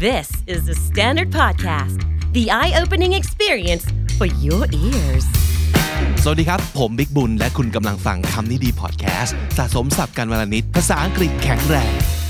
This is the Standard Podcast, the eye-opening experience for your ears. สวัสดีครับผมบิ๊กบุญและคุณกำลังฟังคำนี้ดีพอดแคสต์สะสมศัพท์กันวลนิดภาษาอังกฤษแข็งแรง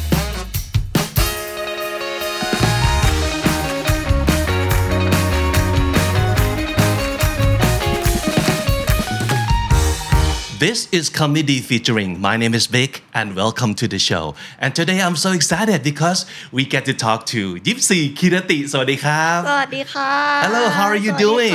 This is Comedy Featuring. My name is Vic and welcome to the show. And today I'm so excited because we get to talk to Yipsi Kirati. สวัสดีครับสวัสดีค่ะ Hello, how are you doing?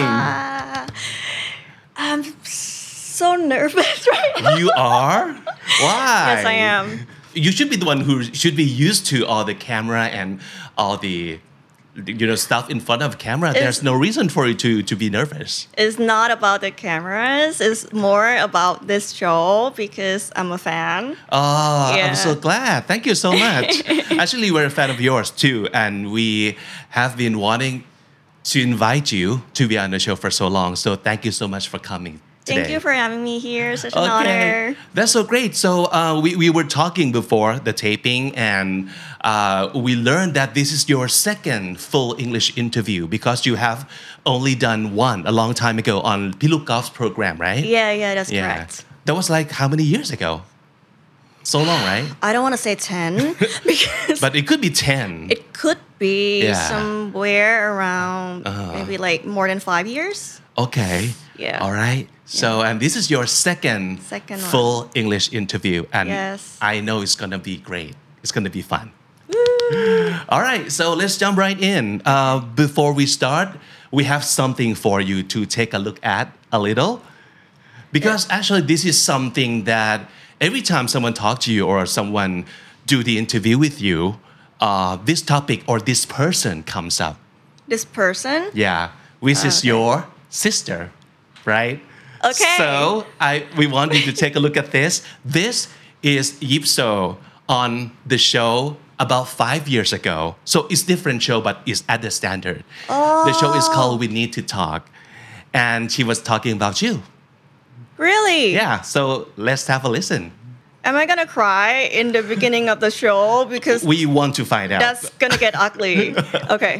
I'm so nervous right now. You are? Why? Yes, I am. You should be the one who should be used to all the camera and all the stuff in front of camera. There's no reason for you to be nervous. It's not about the cameras. It's more about this show because I'm a fan. Oh, Yeah. I'm so glad. Thank you so much. Actually, we're a fan of yours too, and we have been wanting to invite you to be on the show for so long. So thank you so much for coming today. Thank you for having me here. Such an honor. That's so great. So we were talking before the taping and we learned that this is your second full English interview because you have only done one a long time ago on Piluk Golf's program, right? Yeah, that's correct. That was like how many years ago? So long, right? I don't want to say 10 because But it could be 10. it could be Yeah. somewhere around maybe like more than 5 years. Okay. Yeah. All right. So, and this is your second Second one. full English interview. And Yes. I know it's going to be great. It's going to be fun. All right. So let's jump right in. Before we start, we have something for you to take a look at a little. Because actually, this is something that every time someone talks to you or someone do the interview with you, this topic or this person comes up. This person. Yeah, which is your sister, right? Okay. So we want you to take a look at this. This is Yipso on the show about 5 years ago. So it's different show, but it's at the standard. The show is called We Need to Talk. And she was talking about you. Really? Yeah, so let's have a listen. Am I gonna cry in the beginning of the show because We want to find out. that's gonna get ugly? Okay.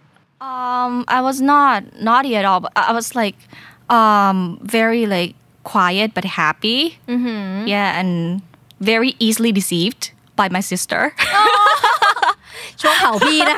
I was not naughty at all, but I was like very like quiet but happy. Mm-hmm. Yeah, and very easily deceived by my sister. ช่วงเผาพี่นะคะ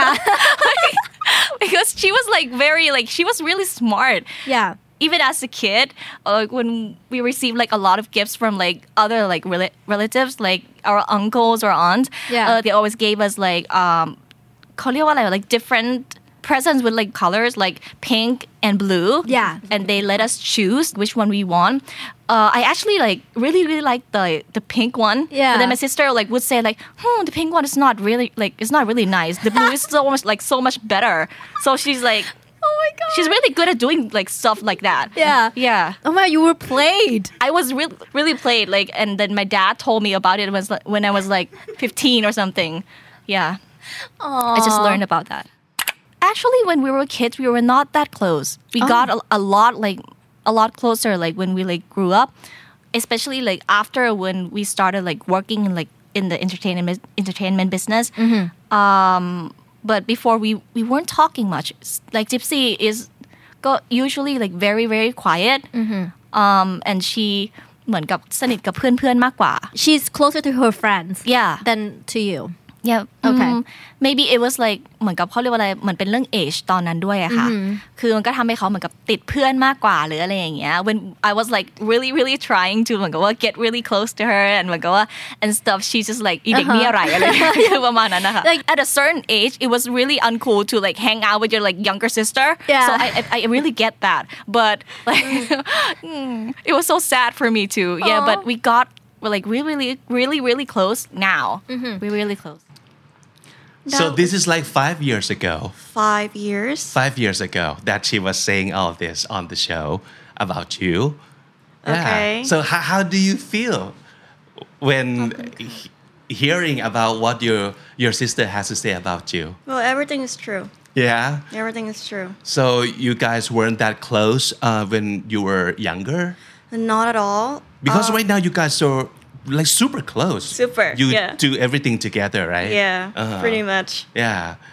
Because she was like very like she was really smart. Yeah. Even as a kid, like when we received like a lot of gifts from like other like relatives, like our uncles or aunts, Yeah. they always gave us like เขาเรียกว่าอะไร like different presents with like colors like pink and blue. Yeah. And they let us choose which one we want. I actually like really like the pink one. Yeah. But then my sister like would say like, the pink one is not really like it's not really nice. The blue is so much better. So she's like. Oh my god. She's really good at doing like stuff like that. Yeah. Yeah. Oh my, you were played. I was really played like, and then my dad told me about it when I was like 15 or something. Yeah. I just learned about that. Actually, when we were kids, we were not that close. We got a lot closer like when we like grew up, especially like after when we started like working in the entertainment business. But before we weren't talking much. Like Gypsy is usually like very quiet. And she เหมือนกับสนิทกับเพื่อนๆมากกว่า She's closer to her friends. Yeah. Than to you. Yeah. Okay. Maybe it was like เหมือนกับเขาเรียกว่าอะไรเหมือนเป็นเรื่อง age ตอนนั้นด้วยอะค่ะคือมันก็ทำให้เขาเหมือนกับติดเพื่อนมากกว่าหรืออะไรอย่างเงี้ย when I was like really trying to เหมือนกับว่า get really close to her and เหมือนกับว่า and stuff she's just like อีเด็กนี่อะไรอะไรคือประมาณนั้นนะคะ like at a certain age it was really uncool to like hang out with your like younger sister. Yeah. So I really get that, but like it was so sad for me too. Yeah, but we got like really close now. We're really close. So this is like 5 years ago. 5 years. 5 years ago that she was saying all this on the show about you. Okay. So how do you feel when hearing about what your sister has to say about you? Well, everything is true. Yeah. Everything is true. So you guys weren't that close when you were younger? Not at all. Because right now you guys are like super close. Super, You yeah. do everything together, right? Yeah, pretty much. Yeah.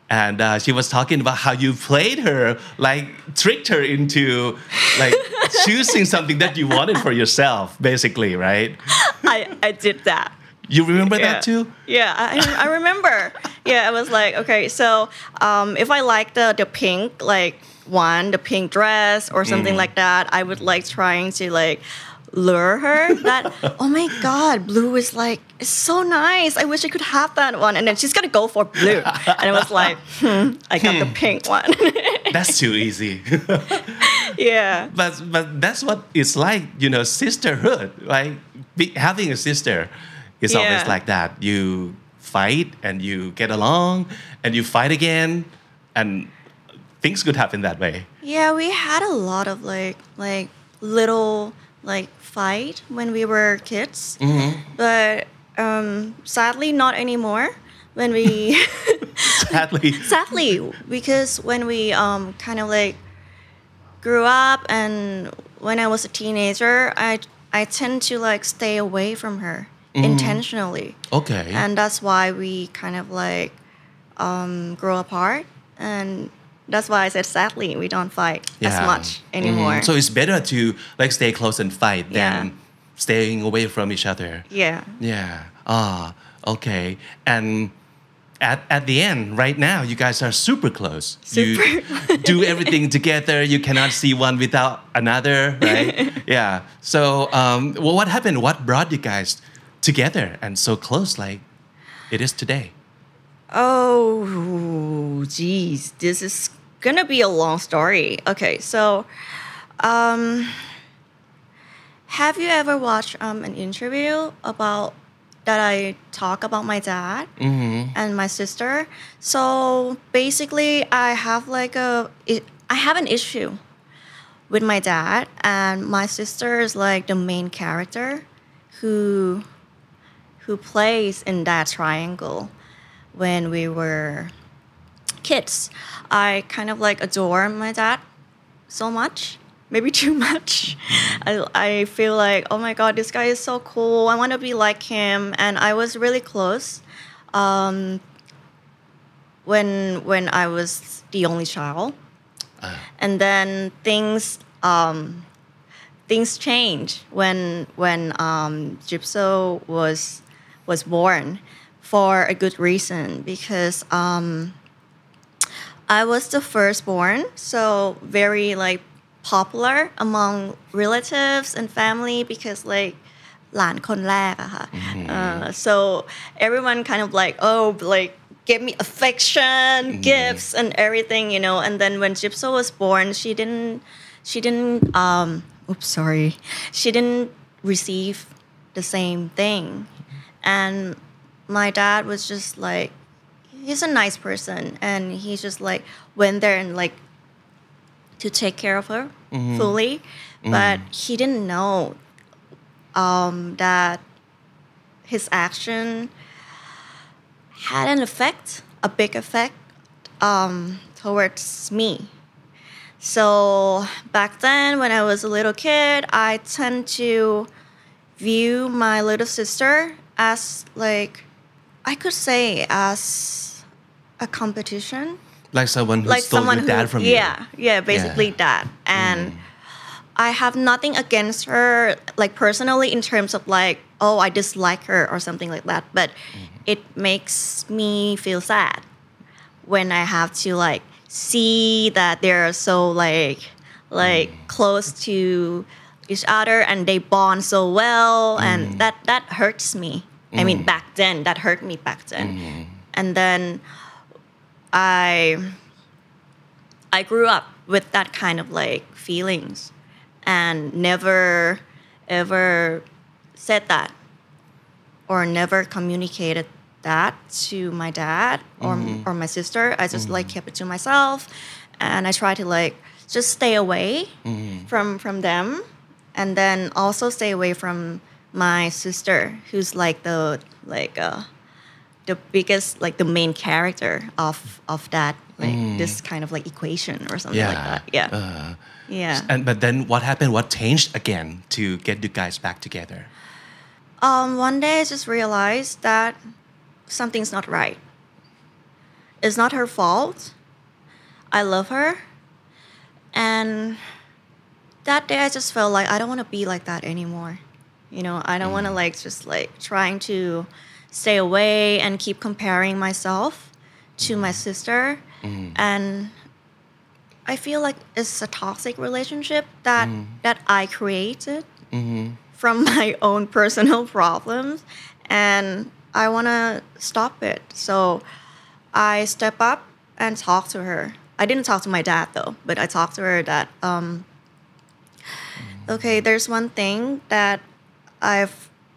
and she was talking about how you played her, like tricked her into like choosing something that you wanted for yourself, basically, right? I did that. You remember that too? Yeah, I remember. Yeah, I was like, okay, so if I like the pink, like the pink dress or something like that, I would like trying to like lure her that, oh my God, blue is like, it's so nice. I wish I could have that one. And then she's going to go for blue. And I was like, I got the pink one. That's too easy. Yeah. But that's what it's like, sisterhood, like having a sister is always like that. You fight and you get along and you fight again and things could happen that way. Yeah, we had a lot of like little like fight when we were kids, but sadly not anymore. When we sadly, because when we kind of like grew up and when I was a teenager, I tend to like stay away from her intentionally. Okay. And that's why we kind of like grow apart, and that's why I said sadly we don't fight as much anymore. So it's better to like stay close and fight than staying away from each other. Yeah. Yeah. Okay. And at the end, right now, you guys are super close. You do everything together. You cannot see one without another, right? Yeah. So what happened? What brought you guys together and so close like it is today? Oh, geez. This is going to be a long story. Okay, so have you ever watched an interview about that I talk about my dad and my sister? So basically, I have an issue with my dad, and my sister is like the main character who plays in that triangle. When we were kids, I kind of like adore my dad so much, maybe too much. I feel like, oh my God, this guy is so cool. I want to be like him. And I was really close when I was the only child. And then things changed when Gypso was born. For a good reason, because I was the firstborn, so very like popular among relatives and family because like หลานคนแรกอะค่ะ so everyone kind of like gave me affection, gifts and everything, and then when Gypso was born, she didn't receive the same thing, and my dad was just like, he's a nice person, and he just like went there and like to take care of her fully, but he didn't know that his action had a big effect towards me. So back then, when I was a little kid, I tend to view my little sister as like, I could say as a competition. Like someone who stole your dad from you. Yeah, basically that. And I have nothing against her, like personally, in terms of like, oh, I dislike her or something like that. But it makes me feel sad when I have to like see that they're so like close to each other and they bond so well, and that hurts me. I mean, back then, that hurt me back then. And then I grew up with that kind of like feelings and never ever said that or never communicated that to my dad or my sister. I just like kept it to myself, and I try to like just stay away from them, and then also stay away from my sister, who's like the biggest, like the main character of that, like this kind of like equation or something like that. Yeah. But then what happened? What changed again to get you guys back together? One day I just realized that something's not right. it's not her fault. I love her. And that day I just felt like I don't want to be like that anymore. You know, I don't want to like just like trying to stay away and keep comparing myself to my sister. And I feel like it's a toxic relationship that I created from my own personal problems, and I want to stop it. So I step up and talk to her. I didn't talk to my dad though, but I talked to her that okay, there's one thing that I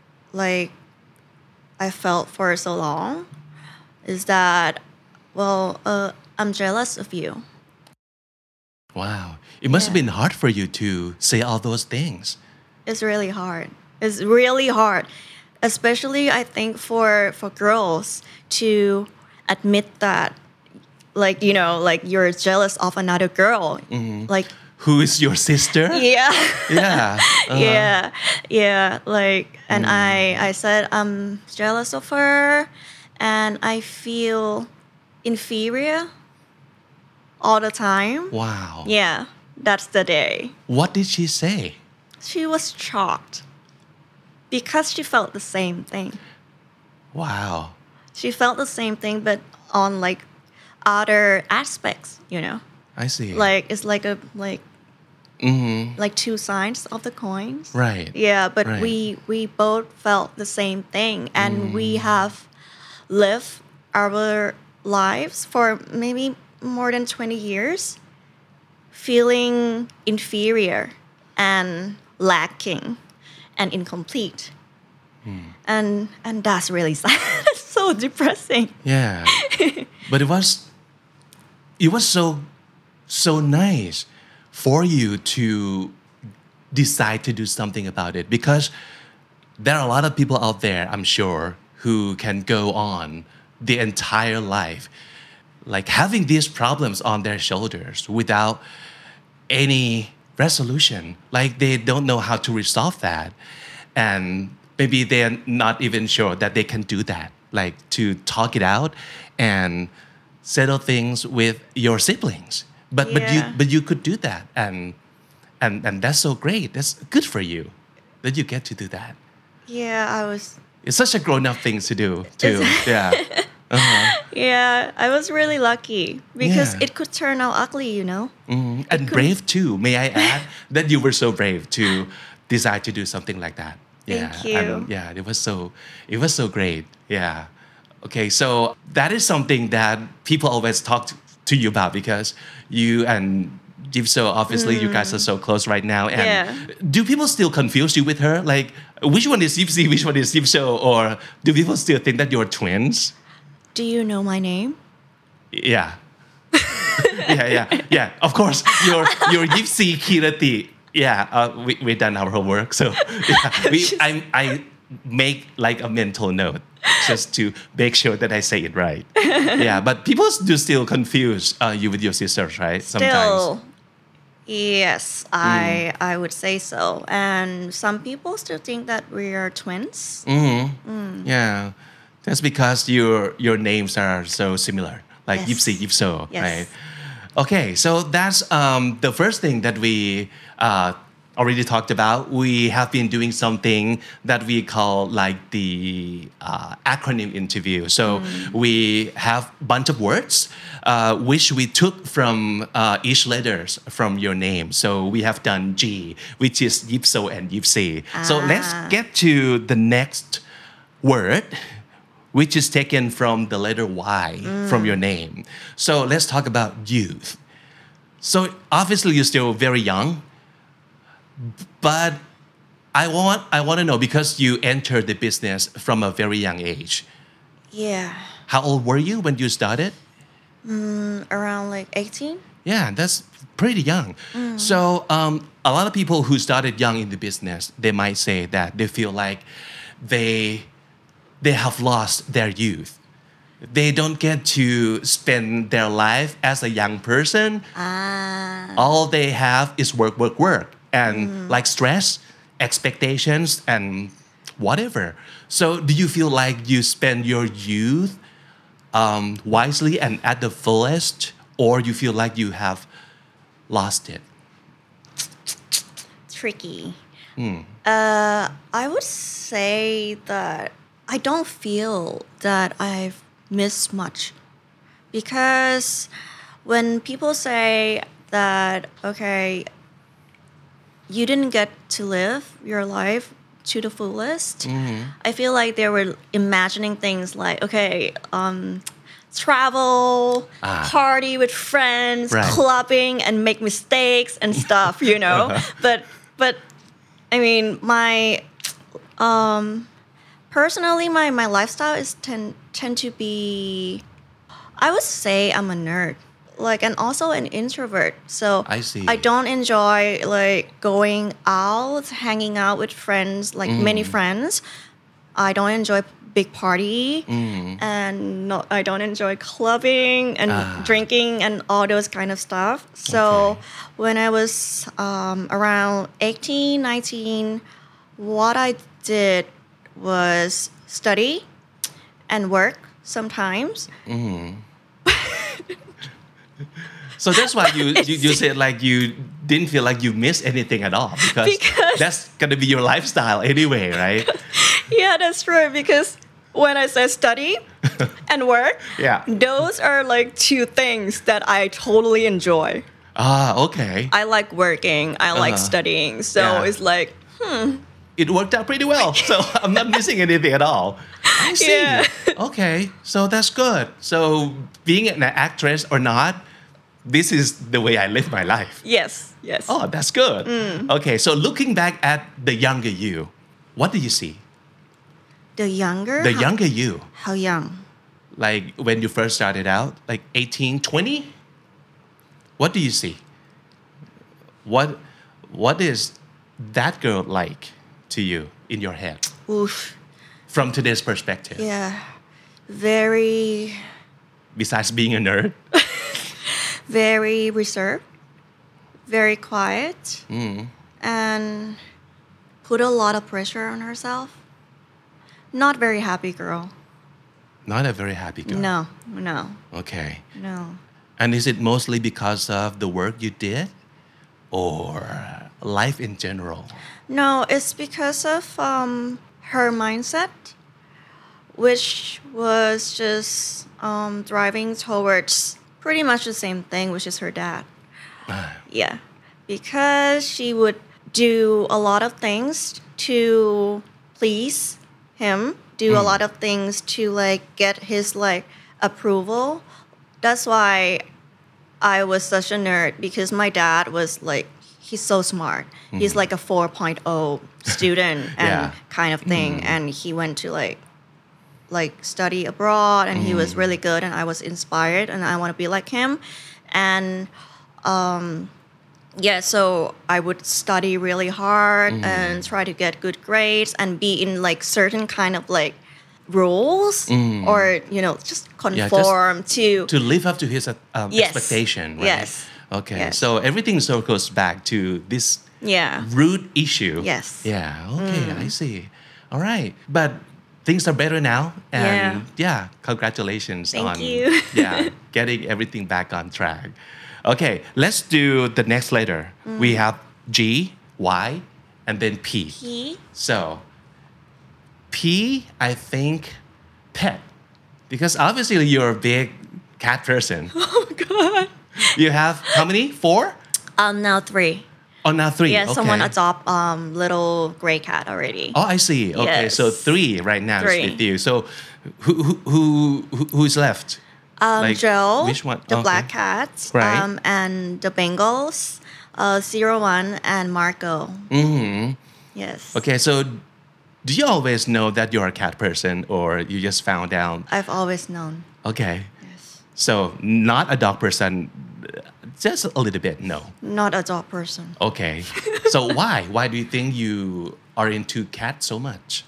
felt for so long is that, well, I'm jealous of you. Wow. It must have been hard for you to say all those things. It's really hard. It's really hard, especially I think for girls to admit that, like, you know, like you're jealous of another girl, like. Who is your sister? Yeah. Yeah. Yeah. Like, and I said I'm jealous of her, and I feel inferior all the time. Wow. Yeah, that's the day. What did she say? She was shocked because she felt the same thing. Wow. She felt the same thing, but on like other aspects, you know. I see. Like it's like a like two sides of the coins. Right. Yeah, but Right. we both felt the same thing, and we have lived our lives for maybe more than 20 years feeling inferior and lacking and incomplete. And that's really sad. It's so depressing. Yeah. But it was so nice for you to decide to do something about it, because there are a lot of people out there, I'm sure, who can go on the entire life like having these problems on their shoulders without any resolution. Like they don't know how to resolve that. And maybe they're not even sure that they can do that, like to talk it out and settle things with your siblings. But you could do that, and that's so great. That's good for you that you get to do that. Yeah, It's such a grown-up thing to do too. Yeah. Yeah, I was really lucky because Yeah. it could turn out ugly, you know. And brave too. May I add that you were so brave to decide to do something like that. Thank you. And yeah, it was so great. Yeah. Okay, so that is something that people always talk to you about, because you and Jipso, obviously you guys are so close right now. And Yeah. do people still confuse you with her? Like, which one is Jipsi, which one is Jipso? Or do people still think that you're twins? Do you know my name? Yeah. yeah. Of course, your Yipsi Kirati. Yeah, we done our homework, so yeah, I make like a mental note just to make sure that I say it right. Yeah, but people do still confuse you with your sisters, right? Still, yes, I would say so. And some people still think that we are twins. Yeah, that's because your names are so similar, like Yes. Yipsi, Yipso, Yes. right? Okay, so that's the first thing that we already talked about. We have been doing something that we call like the acronym interview. So we have a bunch of words which we took from each letters from your name. So we have done G, which is Yipso and Yipsi. So let's get to the next word, which is taken from the letter Y from your name. So let's talk about youth. So obviously you're still very young, but I want to know, because you entered the business from a very young age. Yeah, How old were you when you started? around like 18. Yeah, that's pretty young. So a lot of people who started young in the business, they might say that they feel like they have lost their youth. They don't get to spend their life as a young person. All they have is work, and like stress, expectations, and whatever. So do you feel like you spend your youth wisely and at the fullest, or you feel like you have lost it? Tricky. I would say that I don't feel that I've missed much because when people say that, okay, you didn't get to live your life to the fullest, I feel like they were imagining things like, okay, travel, party with friends, Right. clubbing, and make mistakes and stuff, you know. But I mean, my personally, my lifestyle is tend to be, I would say I'm a nerd, like, and also an introvert. So I see. I don't enjoy like going out, hanging out with friends, like many friends. I don't enjoy big party, and I don't enjoy clubbing and drinking and all those kind of stuff. So Okay. when I was around 18, 19, what I did was study and work sometimes. So that's why you said like you didn't feel like you missed anything at all because that's gonna be your lifestyle anyway, right? Yeah, that's true. Because when I say study and work, Yeah. those are like two things that I totally enjoy. Okay. I like working, I like studying. So Yeah. it's like, It worked out pretty well, so I'm not missing anything at all. I see. Yeah. Okay, so that's good. So being an actress or not, this is the way I live my life. yes. Oh, that's good. Okay, so looking back at the younger you, what do you see? The younger? The younger you, How young? like when you first started out, like 18, 20? What do you see? What is that girl like to you in your head Oof. from today's perspective? Yeah. Very, Besides being a nerd? very reserved, very quiet, and put a lot of pressure on herself. Not very happy girl. Not a very happy girl. No. Okay. No. And is it mostly because of the work you did or life in general? No, it's because of her mindset, which was just driving towards pretty much the same thing, which is her dad. Yeah, because she would do a lot of things to please him, do a lot of things to like get his like approval. That's why I was such a nerd, because my dad was like, he's so smart. He's like a 4.0 student and Yeah. kind of thing. And he went to like study abroad, and he was really good, and I was inspired, and I want to be like him. And yeah, so I would study really hard and try to get good grades and be in like certain kind of like rules, or just conform to To live up to his Yes. expectation, right? Yes. Okay, Yes. so everything circles back to this yeah. root issue. Yes. Yeah, okay, I see. All right, but things are better now, and yeah, congratulations Thank on you. getting everything back on track. Okay, let's do the next letter. We have G, Y, and then P. He So, P, I think, pet, because obviously you're a big cat person. Oh God. You have how many? 4? Now 3. Oh, now 3. Yeah, okay. someone adopt little gray cat already. Oh, I see. Okay, so Yes. 3 right now 3. is with you. So, who's left? Like, Joe, which one? the Okay. black cat, Right. and the Bengals, 01 and Marco. Mm-hmm. Yes. Okay, so do you always know that you're a cat person, or you just found out? I've always known. Okay, Yes. so not a dog person, just a little bit. No. Not a dog person. Okay, so why? Why do you think you are into cats so much?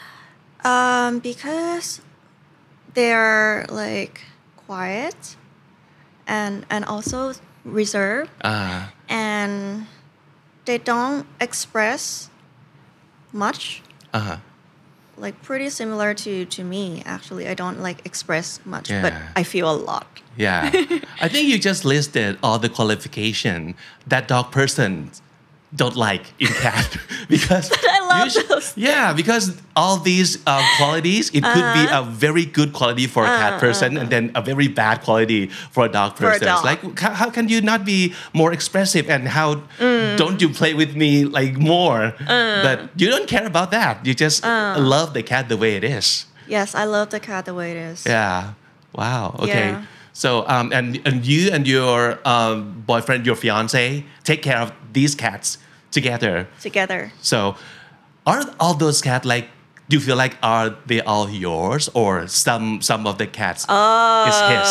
Because they're like quiet and also reserved, and they don't express much. like pretty similar to me actually. I don't like express much, but Yeah. I feel a lot. Yeah. I think you just listed all the qualification that dog person don't like in cat because I love those. Yeah, because all these qualities, it could be a very good quality for a cat person and then a very bad quality for a dog person. dog. It's like how can you not be more expressive and how don't you play with me like more? But you don't care about that. You just love the cat the way it is. Yes, I love the cat the way it is. Yeah. Wow. Okay. Yeah. So and you and your boyfriend, your fiance, take care of these cats together. Together. So are all those cats like? Do you feel like are they all yours or some of the cats is his?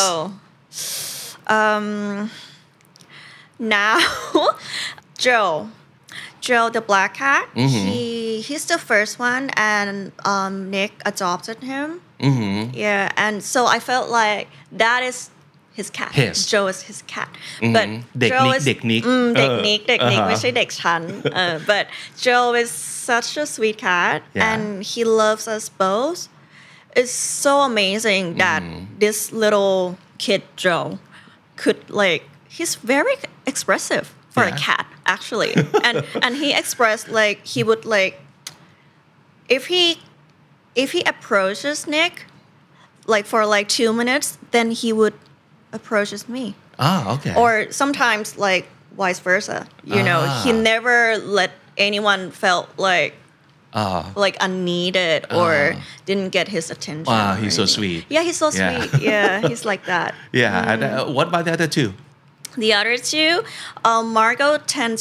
Now, Joe, the black cat. He's the first one, and Nick adopted him. Yeah, and so I felt like that is his cat. His. Joe is his cat. But เด็ก Joe นิก is เด็กนิกเด็กนิกไม่ใช่เด็กฉัน but Joe is such a sweet cat Yeah. and he loves us both. It's so amazing that this little kid Joe could like he's very expressive for a Yeah. cat actually and he expressed like he would like if he approaches Nick like for like 2 minutes then he would approaches me Okay. or sometimes like vice versa you know he never let anyone felt like unneeded or didn't get his attention Wow, or he's so anything. sweet. Yeah, he's so Yeah. sweet. Yeah, he's like that. Yeah. And what about the other two? The other two, Margot tends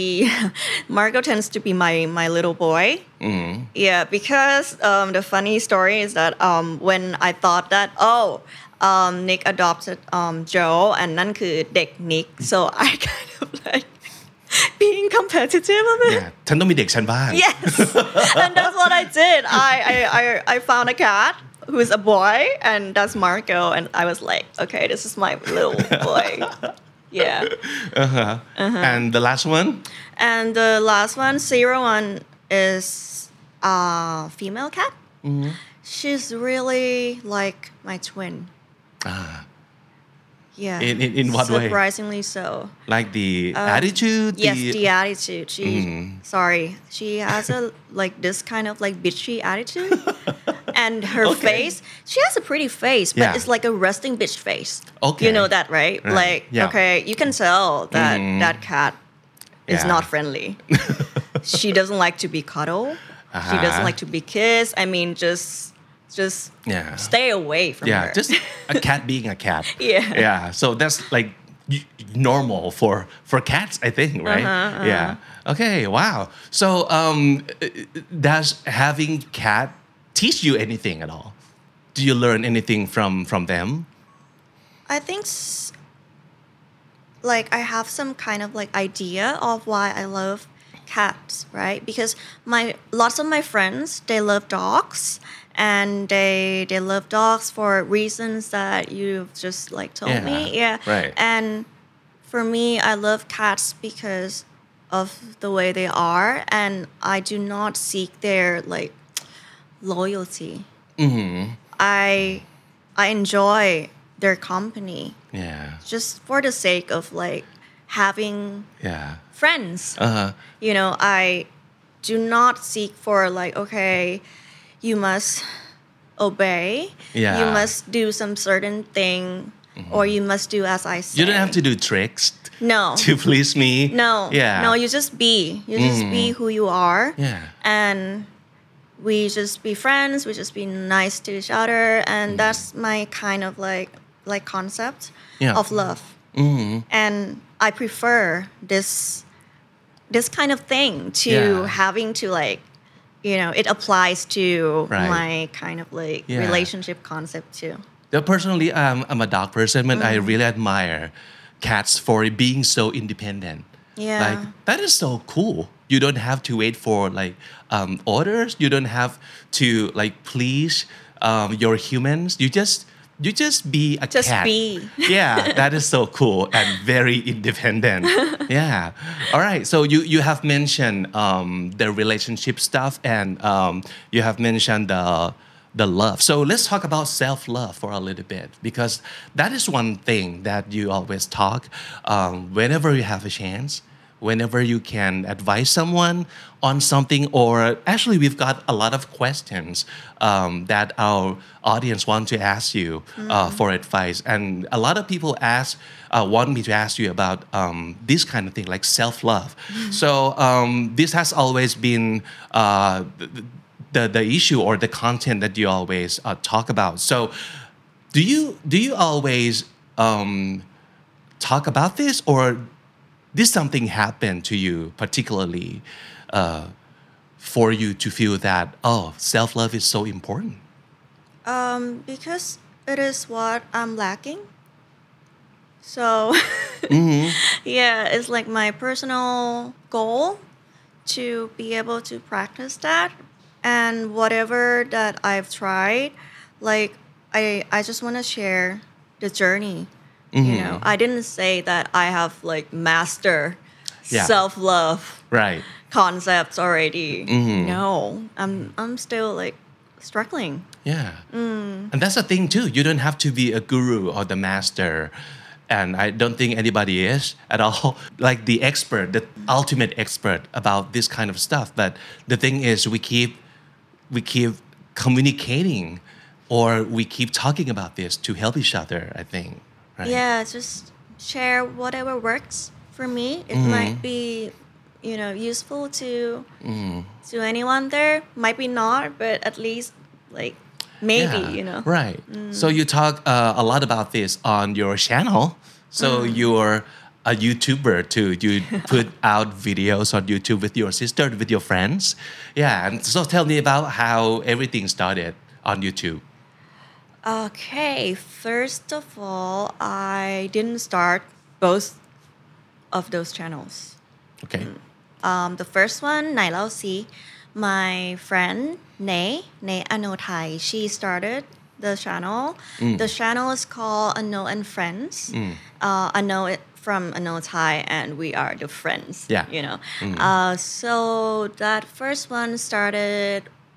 to be my little boy. Yeah, because the funny story is that when I thought that Nick adopted Joe and นั่นคือเด็ก Nick, so I kind of like being competitive a bit. Yeah. ฉันต้องมีเด็กฉันบ้าง Yes, and that's what I did. I found a cat who's a boy, and that's Marco, and I was like, okay, this is my little boy. Yeah. And the last one? And the last one, 01, is a female cat. She's really like my twin. Yeah. In what way? Surprisingly so. Like the attitude? Yes, the attitude. She has a like this kind of like bitchy attitude. And her face, she has a pretty face, but Yeah. it's like a resting bitch face. Okay. You know that, right? Right. Like, Yeah. okay, you can tell that that cat is Yeah. not friendly. She doesn't like to be cuddled. She doesn't like to be kissed. I mean, just Yeah. stay away from Yeah, her. just a cat being a cat. Yeah. Yeah. So that's like normal for cats, I think, right? Yeah. Okay. Wow. So does having cat teach you anything at all? Do you learn anything from them? I think like I have some kind of like idea of why I love cats, right? Because lots of my friends, they love dogs and they love dogs for reasons that you've just like told Yeah, me. Yeah. right. And for me, I love cats because of the way they are and I do not seek their like loyalty. I enjoy their company Yeah. just for the sake of like having Yeah. friends. Uh-huh. You know, I do not seek for like, okay, you must obey. Yeah. You must do some certain thing or you must do as I say. You don't have to do tricks No. to please me. No. Yeah. No, you just be. You just be who you are. Yeah. And we just be friends, we just be nice to each other and that's my kind of like concept Yeah. of love. And I prefer this kind of thing to Yeah. having to like you know it applies to Right. my kind of like Yeah. relationship concept too. Personally, I'm a dog person, but I really admire cats for being so independent. Yeah. Like that is so cool. You don't have to wait for like orders. You don't have to like please your humans. You just you just be a Just cat. be. Yeah, that is so cool and very independent. Yeah. All right. So you have mentioned the relationship stuff and you have mentioned the love. So let's talk about self-love for a little bit because that is one thing that you always talk whenever you have a chance. Whenever you can advise someone on something, or actually, we've got a lot of questions that our audience want to ask you for advice, and a lot of people want me to ask you about this kind of thing, like self-love. So this has always been the issue or the content that you always talk about. So, do you always talk about this, or did something happen to you particularly for you to feel that self-love is so important? Because it is what I'm lacking. So yeah, it's like my personal goal to be able to practice that. And whatever that I've tried, like I just want to share the journey. You know, I didn't say that I have like master self-love Right. concepts already. No, I'm still like struggling. Yeah. And that's the thing too. You don't have to be a guru or the master. And I don't think anybody is at all like the expert, the ultimate expert about this kind of stuff. But the thing is we keep communicating or we keep talking about this to help each other, I think. Right? Yeah, just share whatever works for me. It might be, useful to anyone there. Might be not, but at least like maybe, Right. So you talk a lot about this on your channel. So you're a YouTuber too. You put out videos on YouTube with your sister, with your friends. Yeah. And so tell me about how everything started on YouTube. Okay, first of all, I didn't start both of those channels. Okay. The first one, Nai Lao Si, my friend Nay Anothai, she started the channel. The channel is called Ano and Friends. Ano from Anothai, and we are the friends. Yeah. So that first one started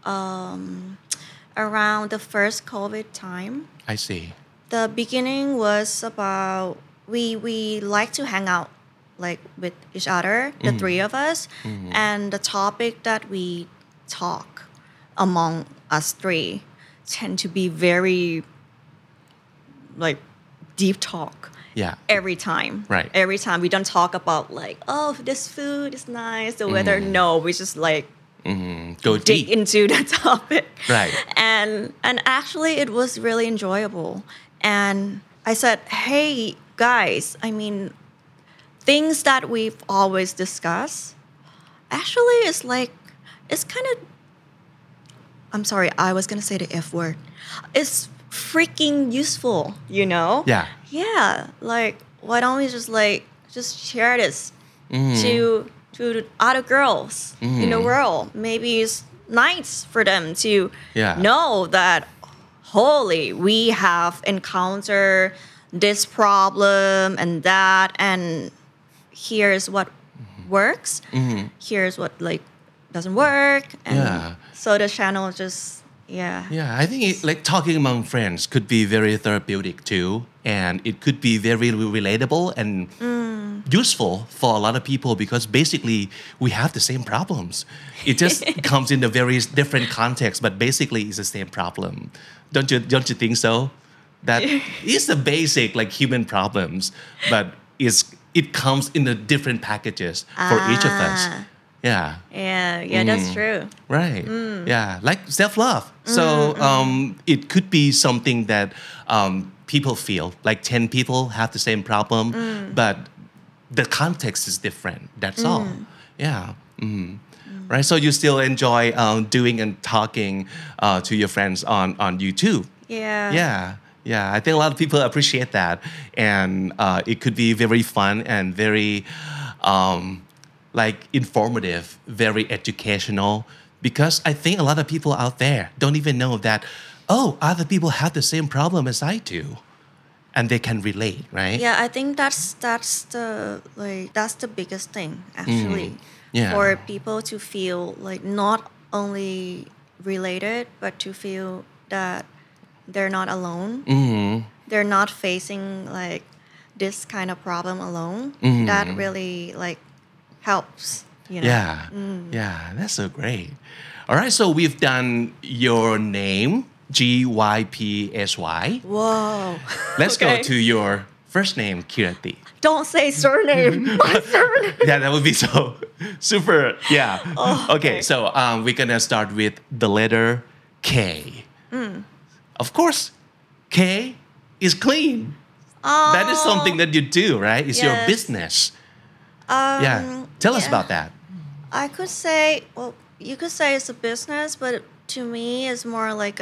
around the first COVID time. I see. The beginning was about we like to hang out like with each other, the three of us, and the topic that we talk among us three tend to be very like deep talk. Yeah. Every time. Right. Every time we don't talk about like, oh, this food is nice, the weather. No, we just like Go dig deep. into the topic. Right. And actually it was really enjoyable. And I said, hey guys, I mean, things that we've always discussed actually is like, it's kind of, I'm sorry, I was going to say the F word. It's freaking useful, Yeah. Yeah, like why don't we just share this to other girls in the world? Maybe it's nice for them to know that holy, we have encountered this problem and that, and here's what works. Here's what like doesn't work. And so the channel just Yeah, I think like talking among friends could be very therapeutic too, and it could be very relatable and useful for a lot of people because basically we have the same problems. It just comes in a very different context, but basically it's the same problem. Don't you think so? That is the basic like human problems, but it comes in the different packages for each of us. Yeah, that's true. Right. Yeah, like self-love. So it could be something that people feel like 10 people have the same problem, but the context is different. That's all. Yeah. Right. So you still enjoy doing and talking to your friends on YouTube. Yeah. Yeah, I think a lot of people appreciate that, and it could be very fun and very like informative, very educational, because I think a lot of people out there don't even know that oh, other people have the same problem as I do, and they can relate, right? Yeah, I think that's the biggest thing actually. Yeah. For people to feel like not only related but to feel that they're not alone. They're not facing like this kind of problem alone. That really like helps, you know. Yeah. Yeah, that's so great. All right, so we've done your name, Gypsy. Whoa. Let's go Okay. to your first name, Kirati. Don't say surname. My surname. Yeah, that would be so super. Yeah. Okay, so we're gonna start with the letter K. Of course, K is clean. That is something that you do, right? It's your Yes. business. Yeah. Tell us about that. I could say, well, you could say it's a business, but to me, it's more like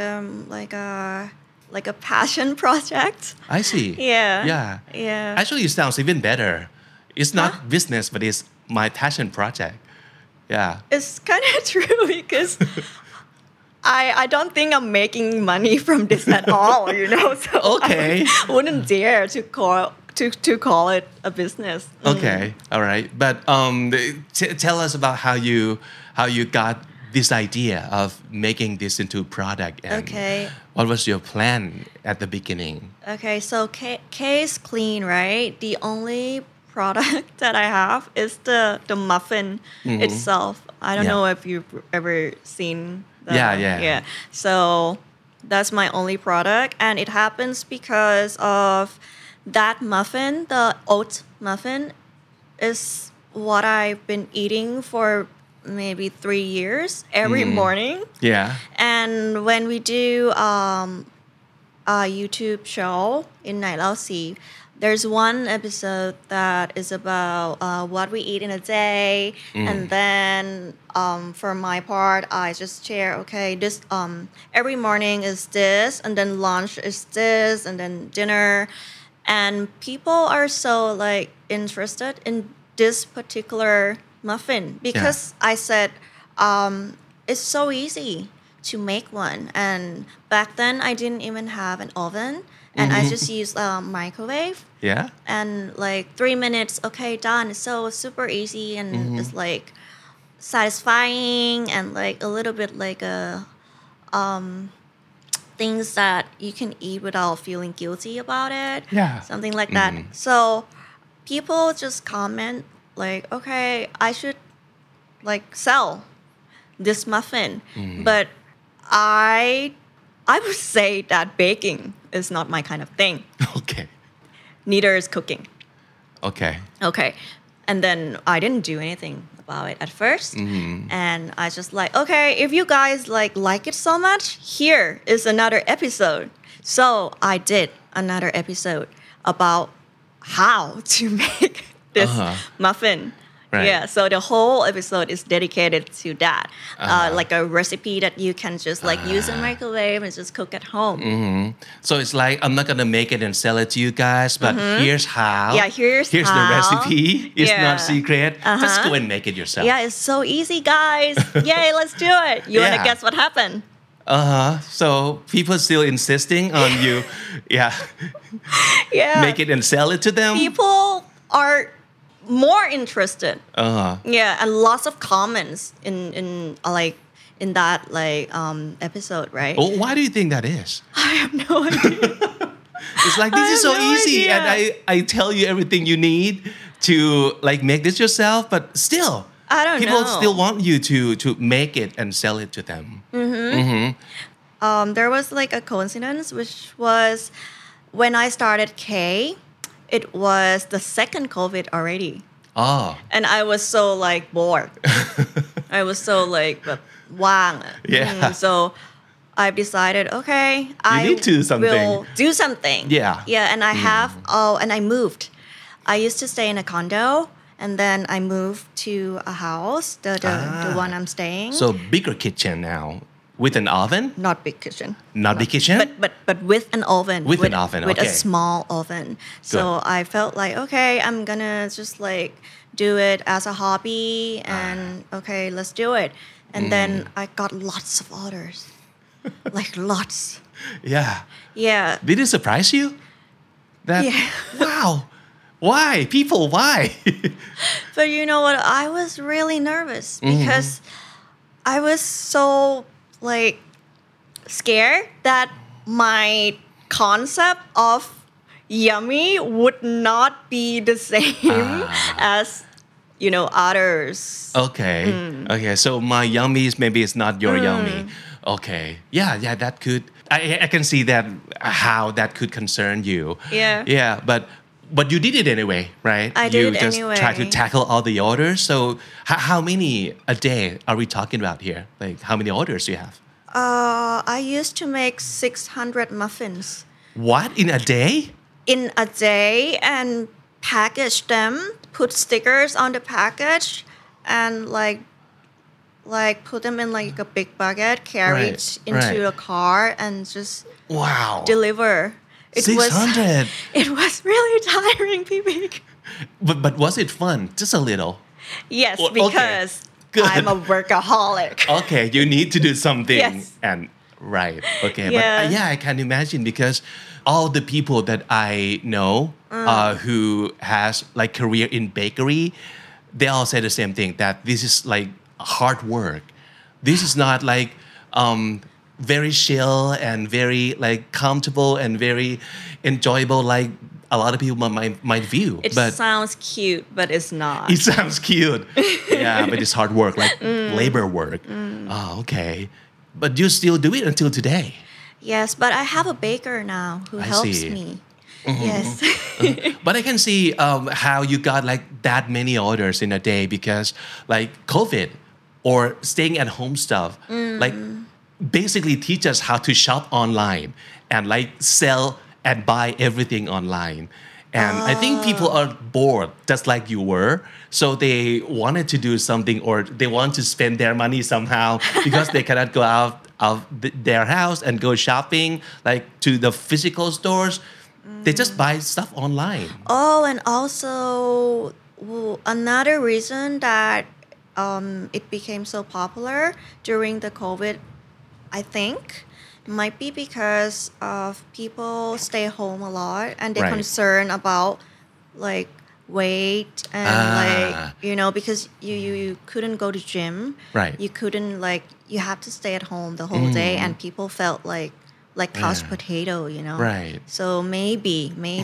a passion project. I see. Yeah. Yeah. Yeah. Actually, it sounds even better. It's not business, but it's my passion project. Yeah. It's kind of true because I don't think I'm making money from this at all, you know. So Okay. I wouldn't dare to call it a business. Okay. All right. But tell us about how you got this idea of making this into a product and Okay. what was your plan at the beginning? Okay, so K is clean, right? The only product that I have is the muffin itself. I don't Yeah. know if you've ever seen that. Yeah. So that's my only product, and it happens because of that muffin, the oat muffin, is what I've been eating for maybe 3 years every morning. Yeah. And when we do a YouTube show in Night Lao Si, there's one episode that is about what we eat in a day, and then for my part, I just share. Okay, this every morning is this, and then lunch is this, and then dinner, and people are so like interested in this particular muffin because I said it's so easy to make one, and back then I didn't even have an oven, and I just used a microwave, Yeah. and like 3 minutes, okay, done. It's so super easy, and it's like satisfying, and like a little bit like a things that you can eat without feeling guilty about it. Yeah. Something like that. So people just comment like, okay, I should like sell this muffin. But I would say that baking is not my kind of thing. Okay. Neither is cooking. Okay. Okay. And then I didn't do anything about it at first. And I just like, okay, if you guys like it so much, here is another episode. So I did another episode about how to make this muffin. Right. Yeah, so the whole episode is dedicated to that, like a recipe that you can just like use in microwave and just cook at home. So it's like I'm not gonna make it and sell it to you guys, but here's how. Yeah, here's the how. recipe. It's Yeah. not secret. Just go and make it yourself. Yeah, it's so easy, guys. Yay, let's do it. You want Yeah. to guess what happened? So people still insisting on you, yeah, Yeah. make it and sell it to them. People are more interested. Uh-huh. Yeah, and lots of comments in that episode, right? Well, why do you think that is? I have no idea. It's like this is so have no easy, idea. and I tell you everything you need to like make this yourself, but still, I don't people know. still want you to make it and sell it to them. There was like a coincidence, which was when I started K, it was the second COVID already. Oh, And I was so like bored. I was so like ว่าง Yeah. So I've decided, okay, I need to do something. will do something. Yeah. Yeah, and I have, and I moved. I used to stay in a condo, and then I moved to a house, the one I'm staying. so bigger kitchen now with an oven, Not big kitchen. not big kitchen. But with an oven. With an oven, With a okay. small oven. So I felt like, okay, I'm gonna just like do it as a hobby and okay, let's do it. And then I got lots of orders. like lots. Yeah. Yeah. Did it surprise you? That Yeah. wow. Why? People, why? But you know what? I was really nervous because I was so like scared that my concept of yummy would not be the same as others. Okay. Okay. So my yummies maybe it's not your yummy. Okay. Yeah. Yeah. That could. I can see that how that could concern you. Yeah. Yeah. But you did it anyway, right? I did you it just anyway. try to tackle all the orders. So how many a day are we talking about here? Like how many orders do you have? I used to make 600 muffins What in a day? in a day and package them, put stickers on the package, and like put them in like a big bucket, carry it into a car, and just Wow. deliver. It 600. It was really tiring, PB. But was it fun? Just a little. Yes, Okay. because Good. I'm a workaholic. Okay, you need to do something. Yes. And right. Okay. Yeah. But yeah, I can imagine because all the people that I know who has like career in bakery, they all say the same thing that this is like hard work. This is not like very chill and very like comfortable and very enjoyable like a lot of people might view. It But sounds cute, but it's not. it sounds cute. Yeah, but it's hard work, like labor work. Oh, okay. But you still do it until today. Yes, but I have a baker now who I helps see. me. Yes. But I can see how you got like that many orders in a day because like COVID or staying at home stuff, like basically teach us how to shop online and like sell and buy everything online. And I think people are bored just like you were. So they wanted to do something or they want to spend their money somehow because they cannot go out of their house and go shopping like to the physical stores. They just buy stuff online. Oh, and also another reason that it became so popular during the COVID, I think, might be because of people stay home a lot and they're Right. concerned about like weight and because you couldn't go to gym. Right. You couldn't you have to stay at home the whole day and people felt like couch potato, Right. So maybe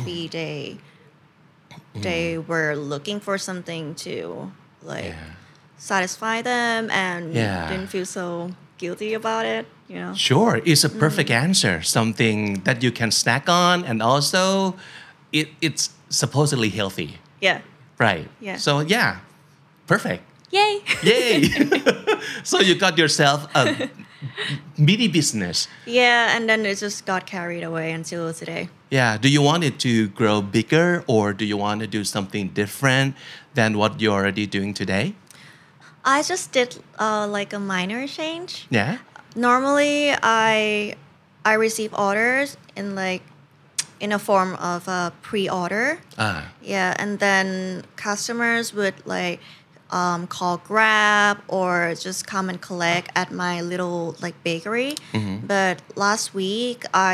they were looking for something to like satisfy them and Yeah. didn't feel so guilty about it, Sure, it's a perfect answer. Something that you can snack on and also it's supposedly healthy. Yeah. Right. Yeah. So yeah, perfect. Yay. Yay! So you got yourself a mini business. Yeah, and then it just got carried away until today. Yeah. Do you want it to grow bigger or do you want to do something different than what you're already doing today? I just did like a minor change. Yeah. Normally, I receive orders in a form of a pre-order. Yeah, and then customers would call Grab or just come and collect at my little bakery. But last week,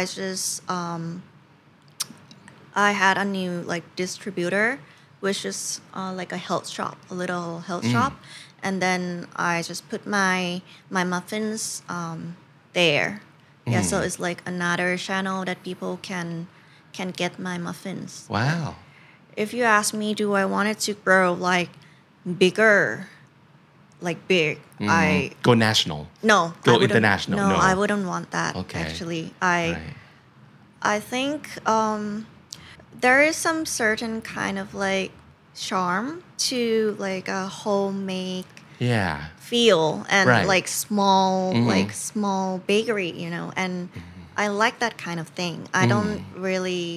I had a new distributor, which is like a health shop, a little health shop. And then I just put my muffins there. Yeah, so it's like another channel that people can get my muffins. Wow. If you ask me, do I want it to grow bigger, big? Go national. No. Go I wouldn't- international, no. I wouldn't want that. Okay. Actually, Right. I think there is some certain kind of charm to a homemade Yeah. feel and Right. small bakery, and I like that kind of thing. I don't really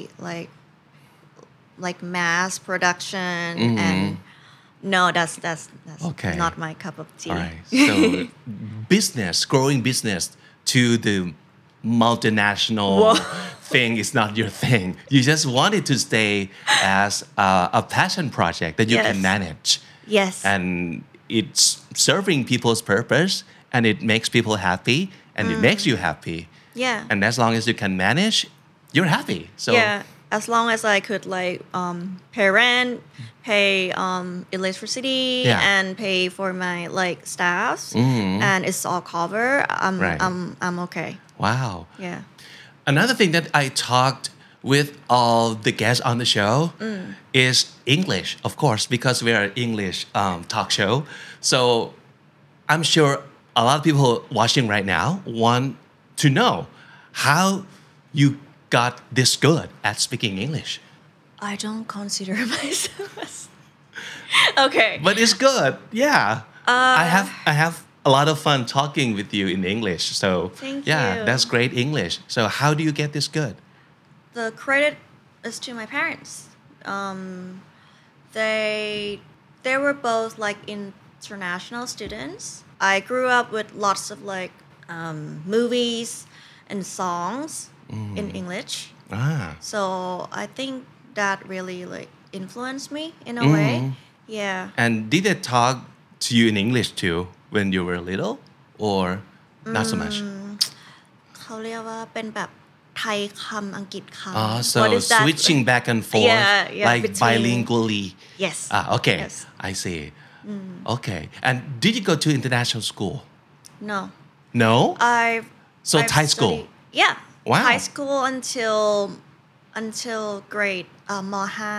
like mass production and no, that's Okay. not my cup of tea. All right. So growing business to the multinational thing is not your thing. You just want it to stay as a passion project that you Yes. can manage. Yes. And it's serving people's purpose and it makes people happy and it makes you happy. Yeah. And as long as you can manage, you're happy. So yeah, as long as I could like pay rent, pay electricity, Yeah. and pay for my like staffs, and it's all covered. Right. I'm okay. wow. Yeah. Another thing that I talked with all the guests on the show is English, of course, because we are an English talk show. So I'm sure a lot of people watching right now want to know how you got this good at speaking English. I don't consider myself as okay. But it's good. Yeah. I have a lot of fun talking with you in English. So Thank yeah, you. that's great English. So how do you get this good? The credit is to my parents. They were both like international students. I grew up with lots of like movies and songs in English. Ah. So I think that really like influenced me in a way. Yeah. And did they talk to you in English too when you were little or not so much? เขาเรียกว่าเป็นแบบไทยคำอังกฤษคำ So What is that? switching back and forth Yeah, like between- bilingually. Yes. Okay. Yes. I see. Okay. And did you go to international school? No. No? I've So Thai school? studied- Yeah. Wow. High school until grade ม.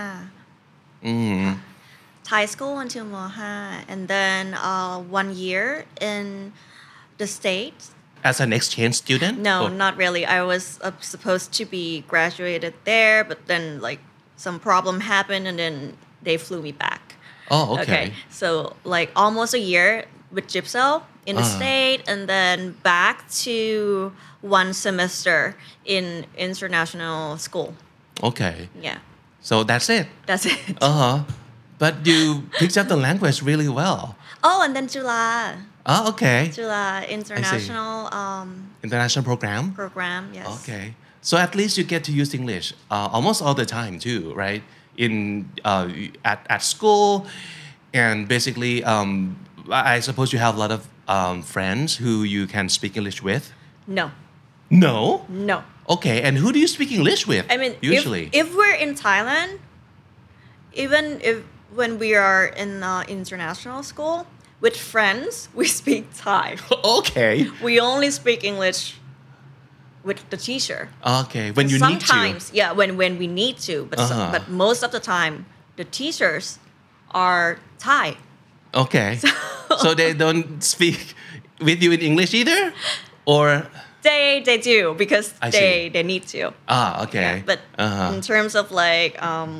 5. Thai school until ม. 5 and then 1 year in the States. As an exchange student? No, Or- not really. I was supposed to be graduated there, but then like some problem happened and then they flew me back. Oh, okay. So like almost a year with Gypsel in the state and then back to 1 semester in international school. Okay. Yeah, So that's it. that's it. Uh-huh. But you picked up the language really well. Oh, and then Jula Oh, okay. international International program? program. Yes. Okay. So at least you get to use English almost all the time too, right? In at school, and basically, I suppose you have a lot of friends who you can speak English with. No, No. no. Okay. And who do you speak English with? I mean, usually. if we're in Thailand, even if when we are in international school with friends, we speak Thai. Okay. We only speak English with the teacher. Okay. When you need to. Sometimes, yeah, when we need to, but most of the time, the teachers are Thai. Okay. So they don't speak with you in English either, or They do because I see. they need to. okay. But in terms of like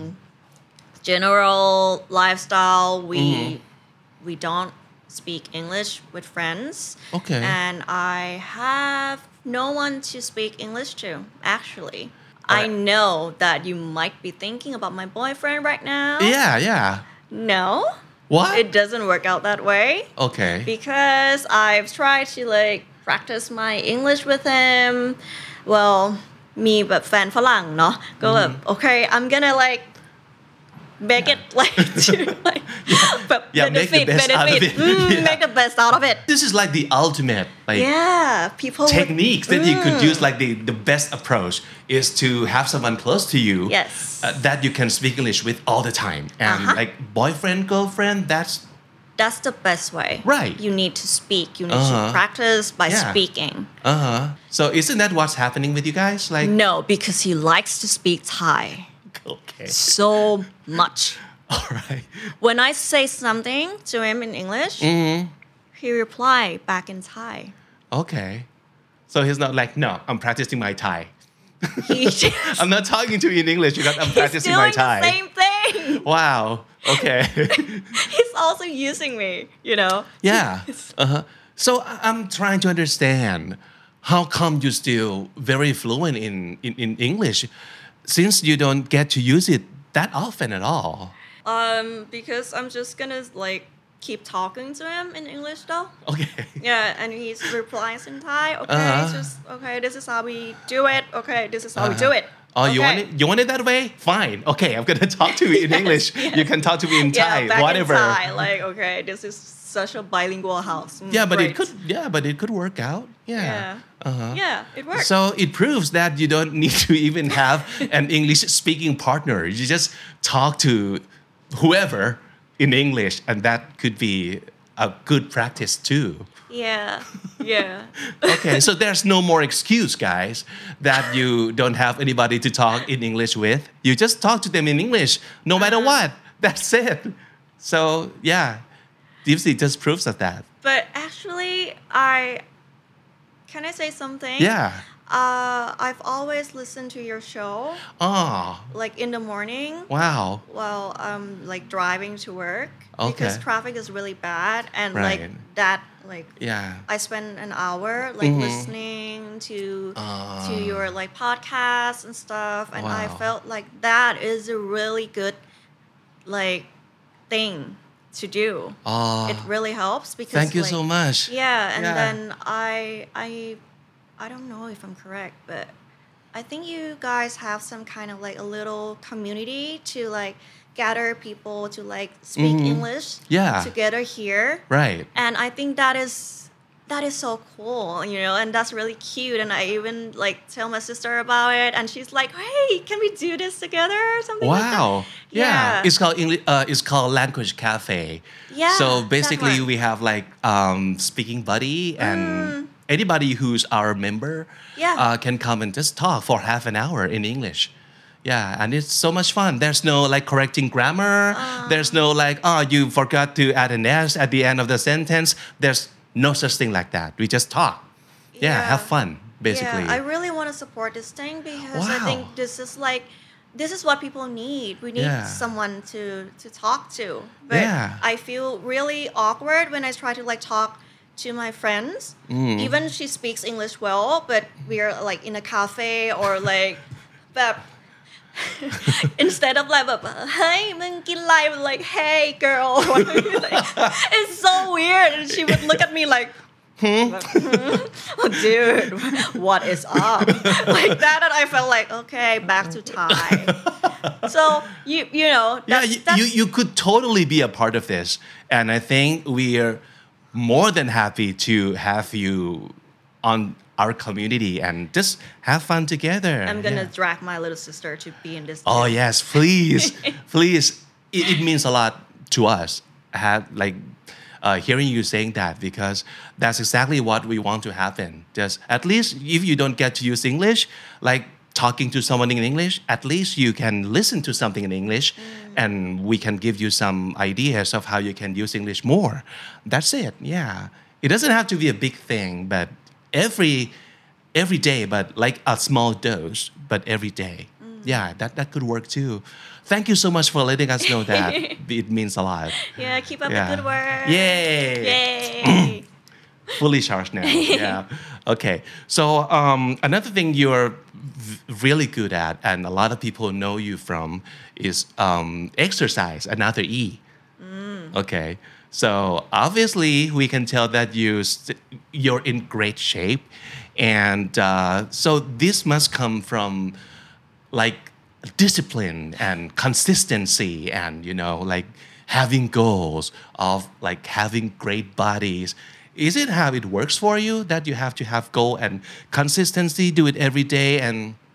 general lifestyle, we don't speak English with friends. Okay. And I have no one to speak English to, actually. I Alright. know that you might be thinking about my boyfriend right now. Yeah. No. What? It doesn't work out that way. Okay. Because I've tried to like practice my English with him. Well, มีแบบแฟนฝรั่งเนาะก็แบบ okay I'm gonna like make it like to like แบบ Yeah, make the best out of it. Yeah. make the best out of it. This is like the ultimate like Yeah, people would- techniques that you could use. Like the best approach is to have someone close to you Yes. that you can speak English with all the time. And like boyfriend, girlfriend, that's the best way. Right. You need to speak. You need to practice by Yeah. speaking. So isn't that what's happening with you guys? Like No, because he likes to speak Thai okay. so much. All right. When I say something to him in English, he reply back in Thai. Okay. So he's not like, no, I'm practicing my Thai. He just, I'm not talking to you in English because I'm he's practicing my doing the Thai. same thing. Wow. Okay. He's also using me, you know. Yeah. So I'm trying to understand how come you're still very fluent in English since you don't get to use it that often at all. Because I'm just gonna like keep talking to him in English though. Okay. Yeah, and he replies in Thai. Okay, it's just okay. This is how we do it. Okay, this is how we do it. Oh, you want Okay. it? You want it that way? Fine. Okay, I'm gonna talk to you in English. You can talk to me in Thai. Yeah, back Whatever. in Thai. Like, okay, this is such a bilingual house. But great. it could work out. Yeah. Uh-huh. Yeah, it works. So it proves that you don't need to even have an English speaking partner. You just talk to whoever in English, and that could be a good practice too. Yeah. Yeah. Okay, so there's no more excuse, guys, that you don't have anybody to talk in English with. You just talk to them in English, no matter what. That's it. So yeah, Deepsy just proves of that. But actually, can I say something? Yeah. I've always listened to your show, Oh, like in the morning wow. while I'm like driving to work because Okay. traffic is really bad, and Right. like that, like Yeah. I spend an hour like listening to your like podcasts and stuff, and I Wow. felt like that is a really good like thing to do. Oh, It really helps because thank you like, so much. Yeah, and Yeah. then I don't know if I'm correct, but I think you guys have some kind of like a little community to like gather people to like speak English Yeah. together here. Right. And I think that is so cool, you know, and that's really cute. And I even like tell my sister about it, and she's like, "Hey, can we do this together or something?" like that?" Wow. Yeah. Yeah. It's called English. It's called Language Cafe. Yeah, So that basically, one. we have like speaking buddy, and anybody who's our member Yeah. can come and just talk for half an hour in English. Yeah, and it's so much fun. There's no like correcting grammar. There's no like, you forgot to add an S at the end of the sentence. There's no such thing like that. We just talk. Yeah, Yeah. have fun, basically. Yeah, I really want to support this thing because I Wow. think this is what people need. We need Yeah. someone to talk to. But Yeah. I feel really awkward when I try to like talk to my friends. Even she speaks English well, but we're like in a cafe or like but instead of like hey มึงกินอะไร like hey girl like, it's so weird, and she would look at me like oh, dude, what is up? Like that, and I felt like, okay, back to Thai. So you know, You could totally be a part of this, and I think we are more than happy to have you on our community and just have fun together. I'm gonna Yeah. drag my little sister to be in this. Oh too. yes, please, please. It means a lot to us. Hearing you saying that, because that's exactly what we want to happen. Just at least if you don't get to use English, like talking to someone in English, at least you can listen to something in English, and we can give you some ideas of how you can use English more. That's it. Yeah, it doesn't have to be a big thing, but every day, but like a small dose, but every day. Yeah, that could work too. Thank you so much for letting us know that. It means a lot. Yeah, keep up Yeah. the good work. Yay! Yay. Fully charged now. Yeah. Okay. So another thing you're really good at, and a lot of people know you from, is exercise. Another E. Okay. So obviously we can tell that you're in great shape, and so this must come from like discipline and consistency, and like having goals of like having great bodies. Is it how it works for you that you have to have goal and consistency, do it every day? And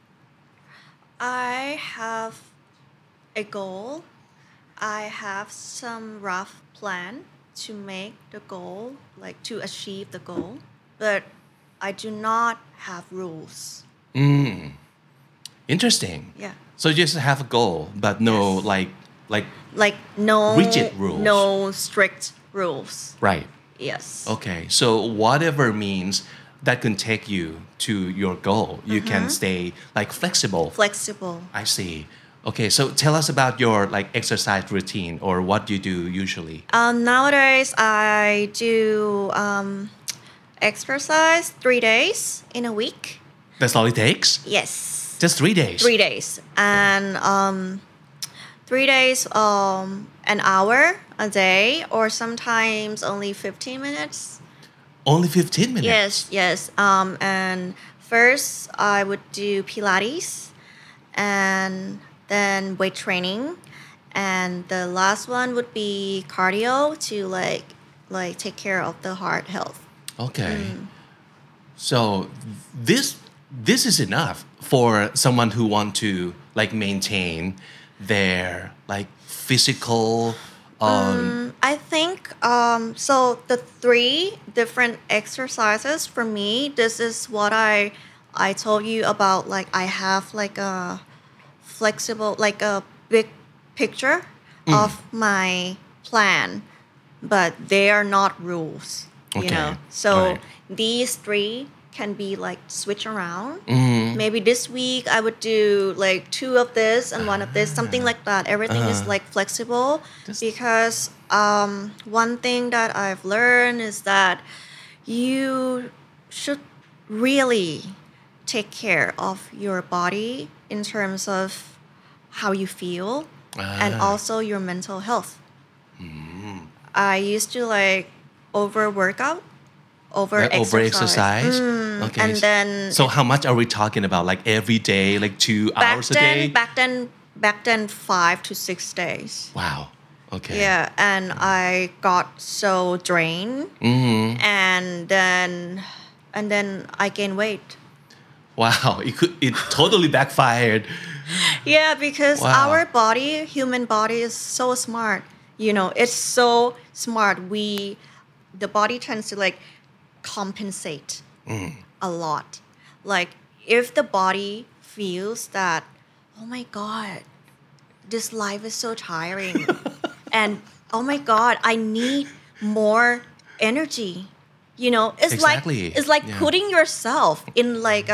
I have a goal. I have some rough plan to make the goal, like to achieve the goal, but I do not have rules. interesting. Yeah. So you just have a goal, but no Yes. like No Rigid rules. No strict rules. right. Yes. Okay, so whatever means that can take you to your goal, you can stay like flexible. Flexible. I see. Okay, so tell us about your like exercise routine or what you do usually. Nowadays, I do exercise 3 days in a week. That's all it takes? Yes. Just 3 days? 3 days. And 3 days, an hour a day, or sometimes only 15 minutes. Only 15 minutes? Yes, yes. And first, I would do Pilates, and then weight training, and the last one would be cardio to like like take care of the heart health. Okay. So this is enough for someone who want to like maintain their like physical I think so the 3 different exercises for me, this is what I told you about, like I have like a flexible, like a big picture of my plan, but they are not rules, you Okay. know. So Alright. these 3 can be like switch around. Maybe this week I would do like 2 of this and 1 of this, something like that. Everything is like flexible because one thing that I've learned is that you should really take care of your body in terms of how you feel and also your mental health. I used to like over exercise. Okay. And then so how much are we talking about? Like every day, like 2 hours a day? back then 5 to 6 days. Wow. Okay. Yeah, and I got so drained, and then I gained weight. Wow. It totally backfired. Yeah, because Wow. our body, human body, is so smart. You know, it's so smart. The body tends to like compensate a lot. Like if the body feels that, oh my God, this life is so tiring, and oh my God, I need more energy. You know, it's Exactly. like Yeah. putting yourself in like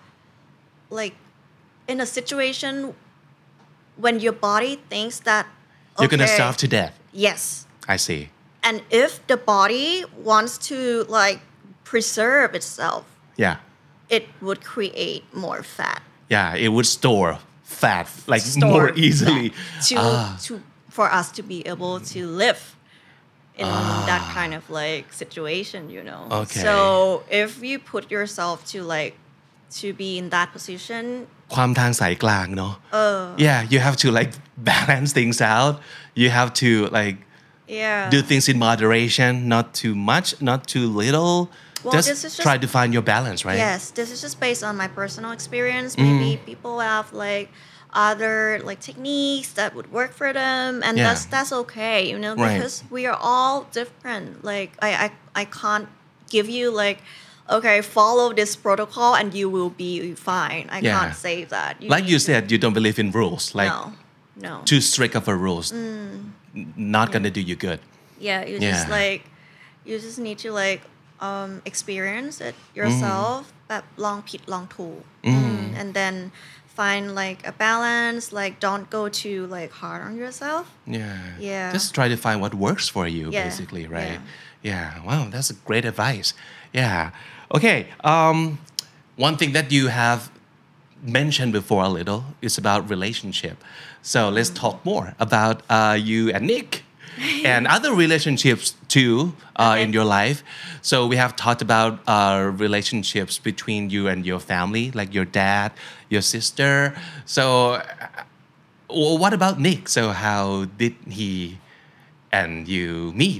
in a situation when your body thinks that You're gonna okay, starve to death. Yes. I see. And if the body wants to like preserve itself, Yeah. it would create more fat. Yeah. It would store fat like Store more easily. to for us to be able to live in that kind of like situation, you know. Okay. So if you put yourself to be in that position, ความทางสายกลางเนาะ Yeah, you have to like balance things out. You have to like yeah. do things in moderation, not too much, not too little. Well, just this is just- try to find your balance, right? Yes, this is just based on my personal experience. Maybe people have like other like techniques that would work for them, and Yeah. that's okay, you know, Right. because we are all different. Like I can't give you like, okay, follow this protocol and you will be fine. I Yeah. can't say that. Like need you to- said, you don't believe in rules. Like no. too strict of a rules, not gonna do you good. Yeah, Yeah. you just need to like experience it yourself, but long pit long tool, and then find like a balance. Like don't go too like hard on yourself. Yeah. Yeah. Just try to find what works for you, Yeah. basically, right? Yeah. Wow, that's a great advice. Yeah. Okay. One thing that you have mentioned before a little is about relationship. So let's talk more about you and Nick and other relationships too in your life. So we have talked about relationships between you and your family, like your dad, your sister. So what about Nick? So how did he and you meet?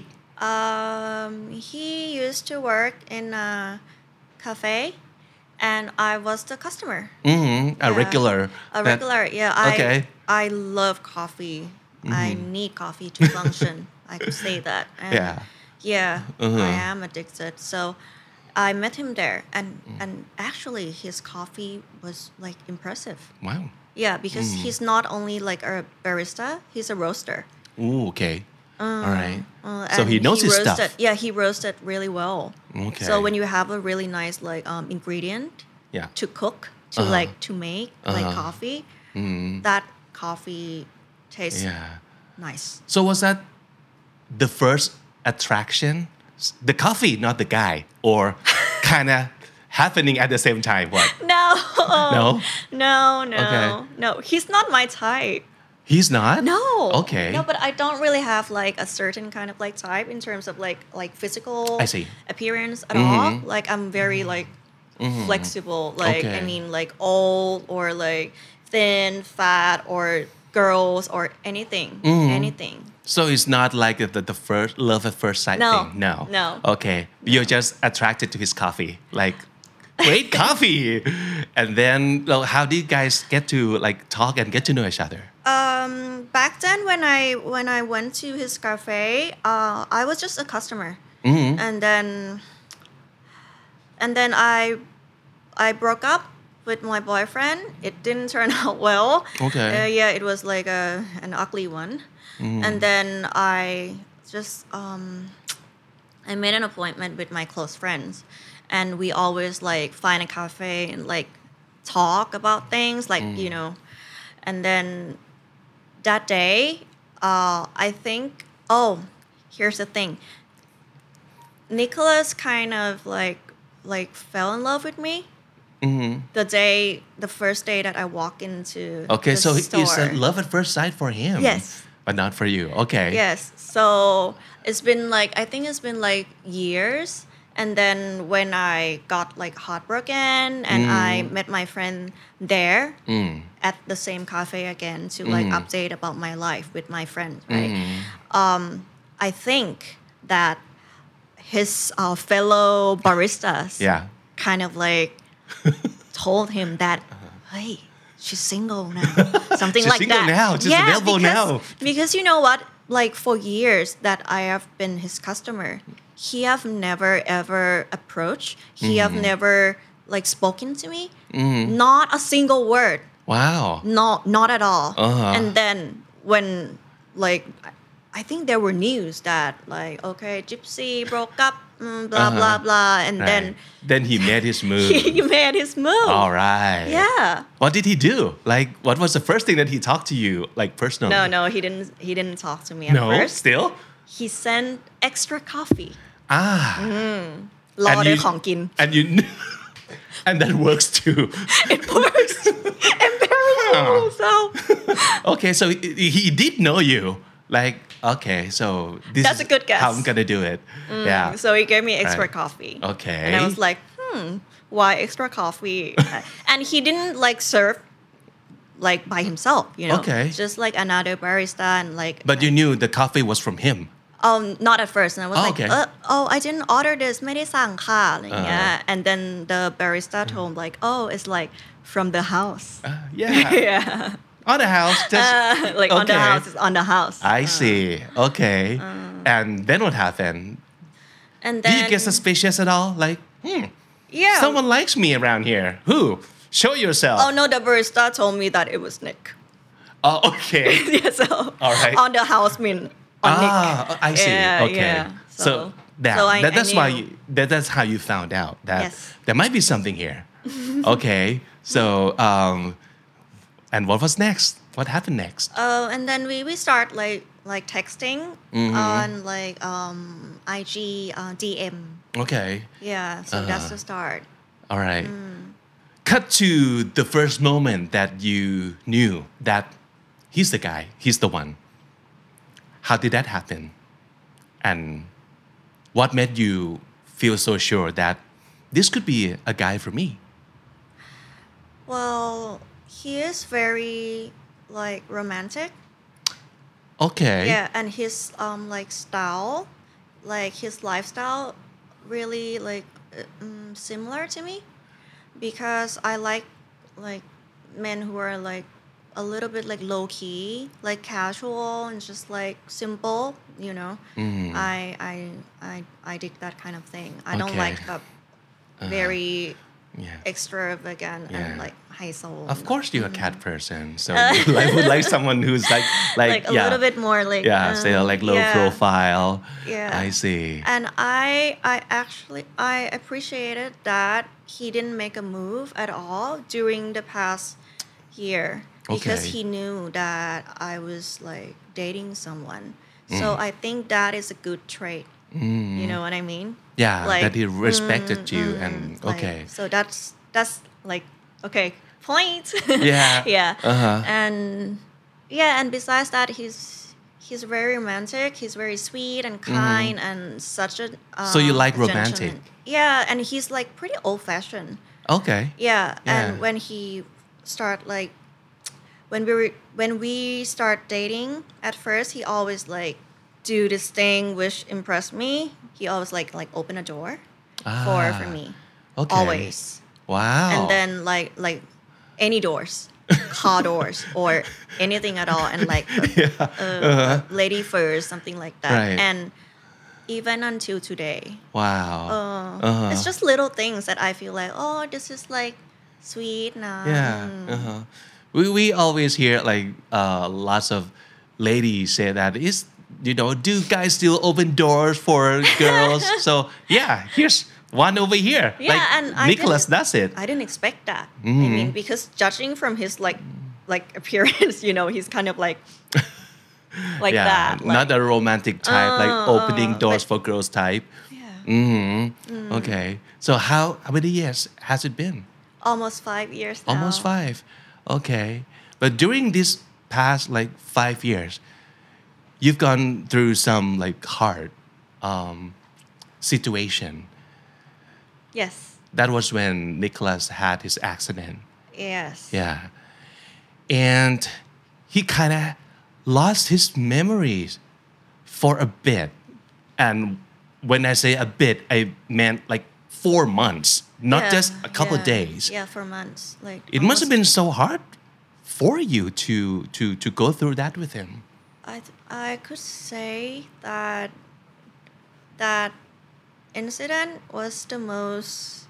He used to work in a cafe, and I was the customer. A Yeah. regular. A regular, yeah. Okay. I love coffee. I need coffee to function. I could say that. And Yeah. I am addicted. So I met him there, and actually his coffee was like impressive. Wow. Yeah, because he's not only like a barista, he's a roaster. Ooh, okay. All right. So And he knows his roasted, stuff. Yeah, he roasted really well. Okay. So when you have a really nice like ingredient Yeah. to cook, to like to make like coffee, that coffee tastes Yeah. nice. So was that the first attraction? The coffee, not the guy, or kind of happening at the same time? What? No. No? No. Okay. No, he's not my type. He's not? No. Okay. No, but I don't really have like a certain kind of like type in terms of like physical I see. appearance at all. Like I'm very like flexible. Like Okay. I mean like old or like thin, fat or girls or anything. So it's not like the first love at first sight No. thing. No. Okay. You're just attracted to his coffee. Like, great coffee. And then, well, how did you guys get to like talk and get to know each other? Back then when I went to his cafe, I was just a customer, and then I broke up with my boyfriend. It didn't turn out well. Okay. It was like an ugly one, and then I just I made an appointment with my close friends, and we always like find a cafe and like talk about things like and then that day I think here's the thing, Nicholas kind of like fell in love with me the first day that I walked into Okay, the so store. it's a love at first sight for him. Yes. But not for you. Okay. Yes. So it's been like, I think it's been like years. And then when I got like heartbroken and I met my friend there at the same cafe again to like update about my life with my friends, right? I think that his fellow baristas Yeah. kind of like told him that, hey, she's single now. Something She's like single that. now. She's available now. Because you know what? Like for years that I have been his customer, he have never ever approached. He have never like spoken to me. Not a single word. Wow. Not at all. Uh-huh. And then when like I think there were news that like okay, Gypsy broke up, blah blah blah, and Right. Then he made his move. he made his move. All right. Yeah. What did he do? Like, what was the first thing that he talked to you, like personally? No, he didn't talk to me at No? first. Still? He sent extra coffee. รอ And ได้ you- ของกิน And you, and that works too. It works. Embarrassing myself. Okay, so he did know you. Like, okay, so this That's is a good guess. how I'm gonna do it. Yeah. So he gave me extra Right. coffee. Okay. And I was like, why extra coffee? And he didn't like serve like by himself, you know. Okay. Just like another barista and like. But you knew the coffee was from him. Not at first. And I was like, okay. I didn't order this. ไม่ได้สั่งค่ะอะไรอย่างเงี้ย And then the barista told him like, it's like from the house. Yeah. Yeah. On the house. Just, Like on the okay. house. It's on the house. I see. Okay. And then what happened? And Do then. you get suspicious at all? Like, Yeah. someone likes me around here. Who? Show yourself. Oh no, the barista told me that it was Nick. Oh, okay. Yeah, so All right. on the house mean on Nick. I see. Yeah, Okay. yeah. So, I that's why knew. that's how you found out that Yes. there might be something here. Okay. So, and what was next? What happened next? And then we start like texting on like IG DM. Okay. Yeah, so that's the start. All right. Cut to the first moment that you knew that he's the guy, he's the one. How did that happen? And what made you feel so sure that this could be a guy for me? Well, he is very like romantic. Okay. Yeah, and his like style, like his lifestyle, really like similar to me, because I like men who are like a little bit like low key, like casual and just like simple, you know. I dig that kind of thing. I don't Okay. like the very Yeah. extravagant Yeah. and like high soul. Of course, you're a cat person, so you would like someone who's like Like a little bit more like say like low yeah. profile. Yeah. I see. And I actually I appreciated that he didn't make a move at all during the past year, because Okay. he knew that I was like dating someone. So I think that is a good trait. You know what I mean? Yeah, Like, that he respected you and like, okay. So that's like okay, point. Yeah. Yeah. Uh-huh. And besides that, he's very romantic. He's very sweet and kind and such a. So you like gentleman. romantic? Yeah, and he's like pretty old fashioned. Okay. Yeah, Yeah. and when he start like when we start dating, at first he always like do this thing which impressed me. He always like open a door for me. Okay. Always. Wow. And then like any doors, car doors or anything at all, and like lady first, something like that. Right. And even until today, wow. it's just little things that I feel like, oh, this is like sweet now. Yeah. We always hear like lots of ladies say that is, do guys still open doors for girls? So yeah, here's one over here. Yeah, like and I Nicholas didn't- does it. I didn't expect that. I mean, because judging from his like appearance, he's kind of like Yeah, that. not a romantic type, like opening doors but- for girls type. Yeah. Okay. So how many years has it been? Almost 5 years now. Almost 5. Okay. But during this past like 5 years, you've gone through some like hard situation. Yes. That was when Nicholas had his accident. Yes. Yeah. And he kind of lost his memories for a bit. And when I say a bit, I meant like 4 months, not Yeah, just a couple yeah. days. Yeah, for months. Like It must have almost- been so hard for you to go through that with him. I could say that that incident was the most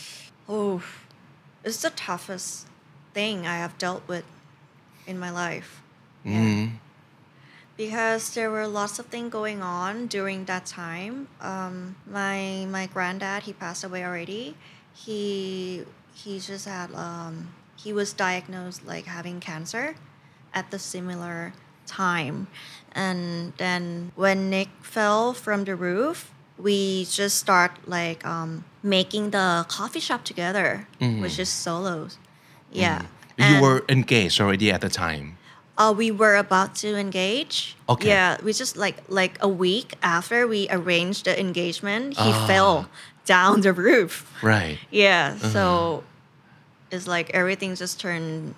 it's the toughest thing I have dealt with in my life. Yeah. Because there were lots of things going on during that time. My granddad, he passed away already. He just had he was diagnosed like having cancer at the similar time. And then when Nick fell from the roof, we just start like making the coffee shop together, which is solos. Yeah. You And, were engaged already at the time. we were about to engage. Okay. Yeah, we just like a week after we arranged the engagement, he fell down the roof. Right. Yeah, so it's like everything just turned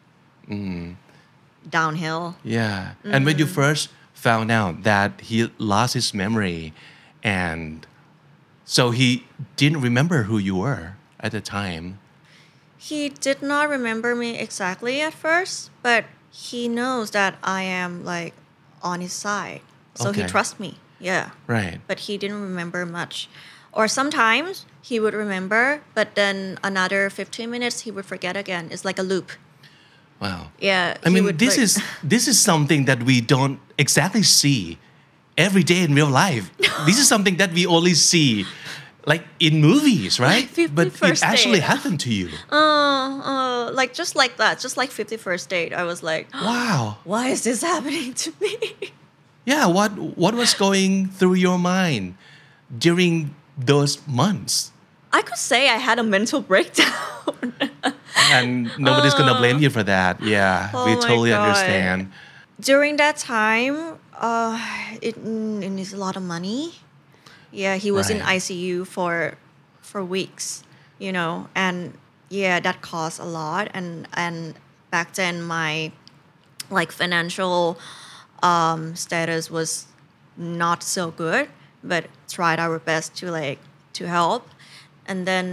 downhill. Yeah. And when you first found out that he lost his memory and so he didn't remember who you were at the time. He did not remember me exactly at first, but he knows that I am like on his side. So he Okay. trusts me. Yeah. Right. But he didn't remember much. Or sometimes he would remember, but then another 15 minutes he would forget again. It's like a loop. Wow. Yeah. I he mean, would, this like- is something that we don't exactly see every day in real life. This is something that we only see like in movies, right? But it 51st actually date. happened to you. like just like that, just like 51st date. I was like, Wow. why is this happening to me? Yeah, what was going through your mind during those months? I could say I had a mental breakdown. And nobody's gonna blame you for that. Yeah, Oh we my totally God. understand. During that time, it needs a lot of money. Yeah, he was in Right. ICU for weeks, and yeah, that cost a lot. And back then, my like financial status was not so good, but tried our best to help. And then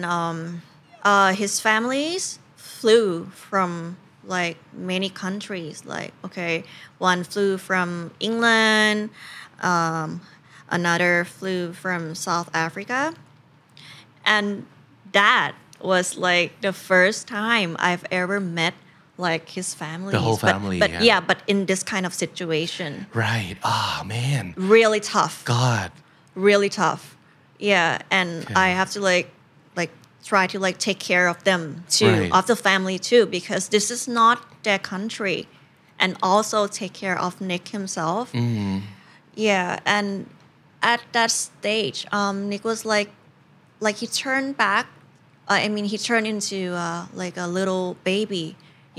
his families flew from like many countries. Like one flew from England, another flew from South Africa, and that was like the first time I've ever met like his family. The whole family, but yeah. yeah, but in this kind of situation, Right. Oh man. really tough. God. Really tough. Yeah, and Okay. I have to like try to like take care of them too, Right. of the family too, because this is not their country, and also take care of Nick himself. Yeah, and at that stage, Nick was like he turned back. He turned into like a little baby.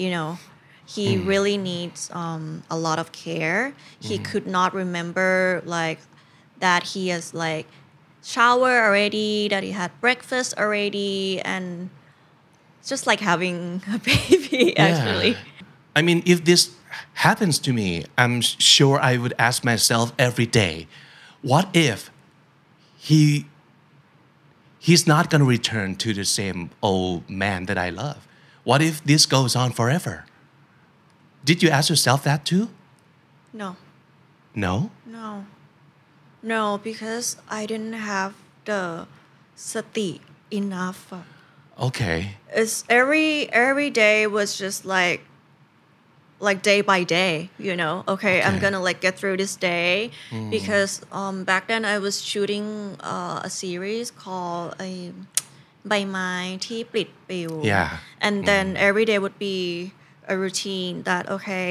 He really needs a lot of care. He could not remember like that he has like shower already, that he had breakfast already, and just like having a baby actually. I mean, if this happens to me, I'm sure I would ask myself every day, what if he's not going to return to the same old man that I love? What if this goes on forever? Did you ask yourself that too? No. No? No, because I didn't have the sati enough. Okay. It's every day was just like day by day, you know. Okay, I'm gonna like get through this day because back then I was shooting a series called ใบไม้ที่ปลิดปลิว Yeah. And then every day would be a routine that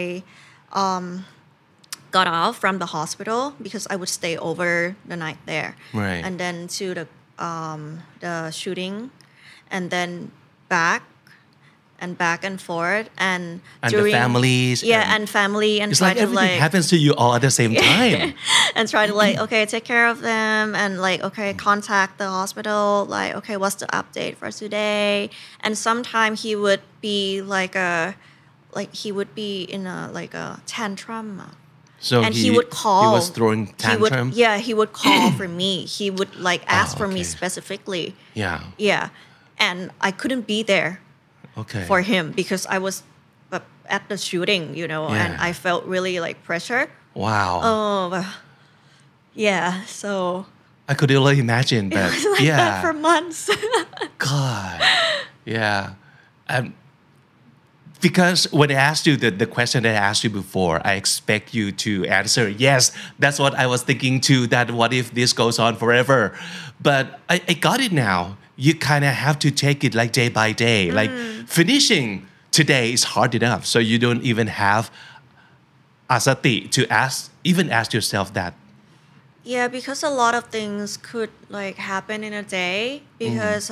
got off from the hospital because I would stay over the night there. Right. And then to the shooting and then back and forth and the families and family and it's try like to everything happens to you all at the same time. and try to like take care of them and like contact the hospital like what's the update for today, and sometimes he would be he would be in a tantrum. So and he would call. He was throwing tantrum. He would call for me. He would like ask for me okay. specifically. Yeah. And I couldn't be there Okay. for him because I was at the shooting, you know, and Yeah. I felt really like pressure. Wow. So I could only imagine that. it was like that for months. God. Yeah. Because when I asked you the question that I asked you before, I expect you to answer, yes, that's what I was thinking too, that what if this goes on forever? But I got it now. You kind of have to take it like day by day. Like finishing today is hard enough. So you don't even have asati to ask yourself that. Yeah, because a lot of things could like happen in a day because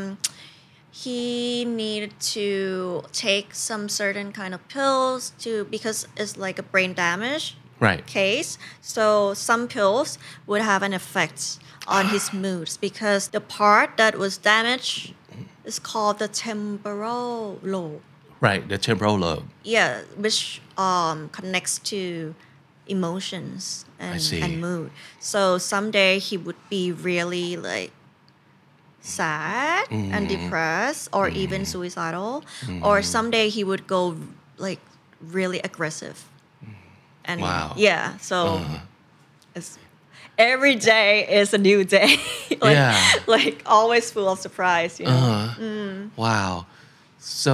he needed to take some certain kind of pills because it's like a brain damage Right. case. So some pills would have an effect on his moods because the part that was damaged is called the temporal lobe. Right. The temporal lobe. Yeah, which connects to emotions I see. and mood. So someday he would be really like sad and depressed or even suicidal, or someday he would go like really aggressive. And Wow. yeah, so it's every day is a new day. Like always full of surprise, you know. Wow. So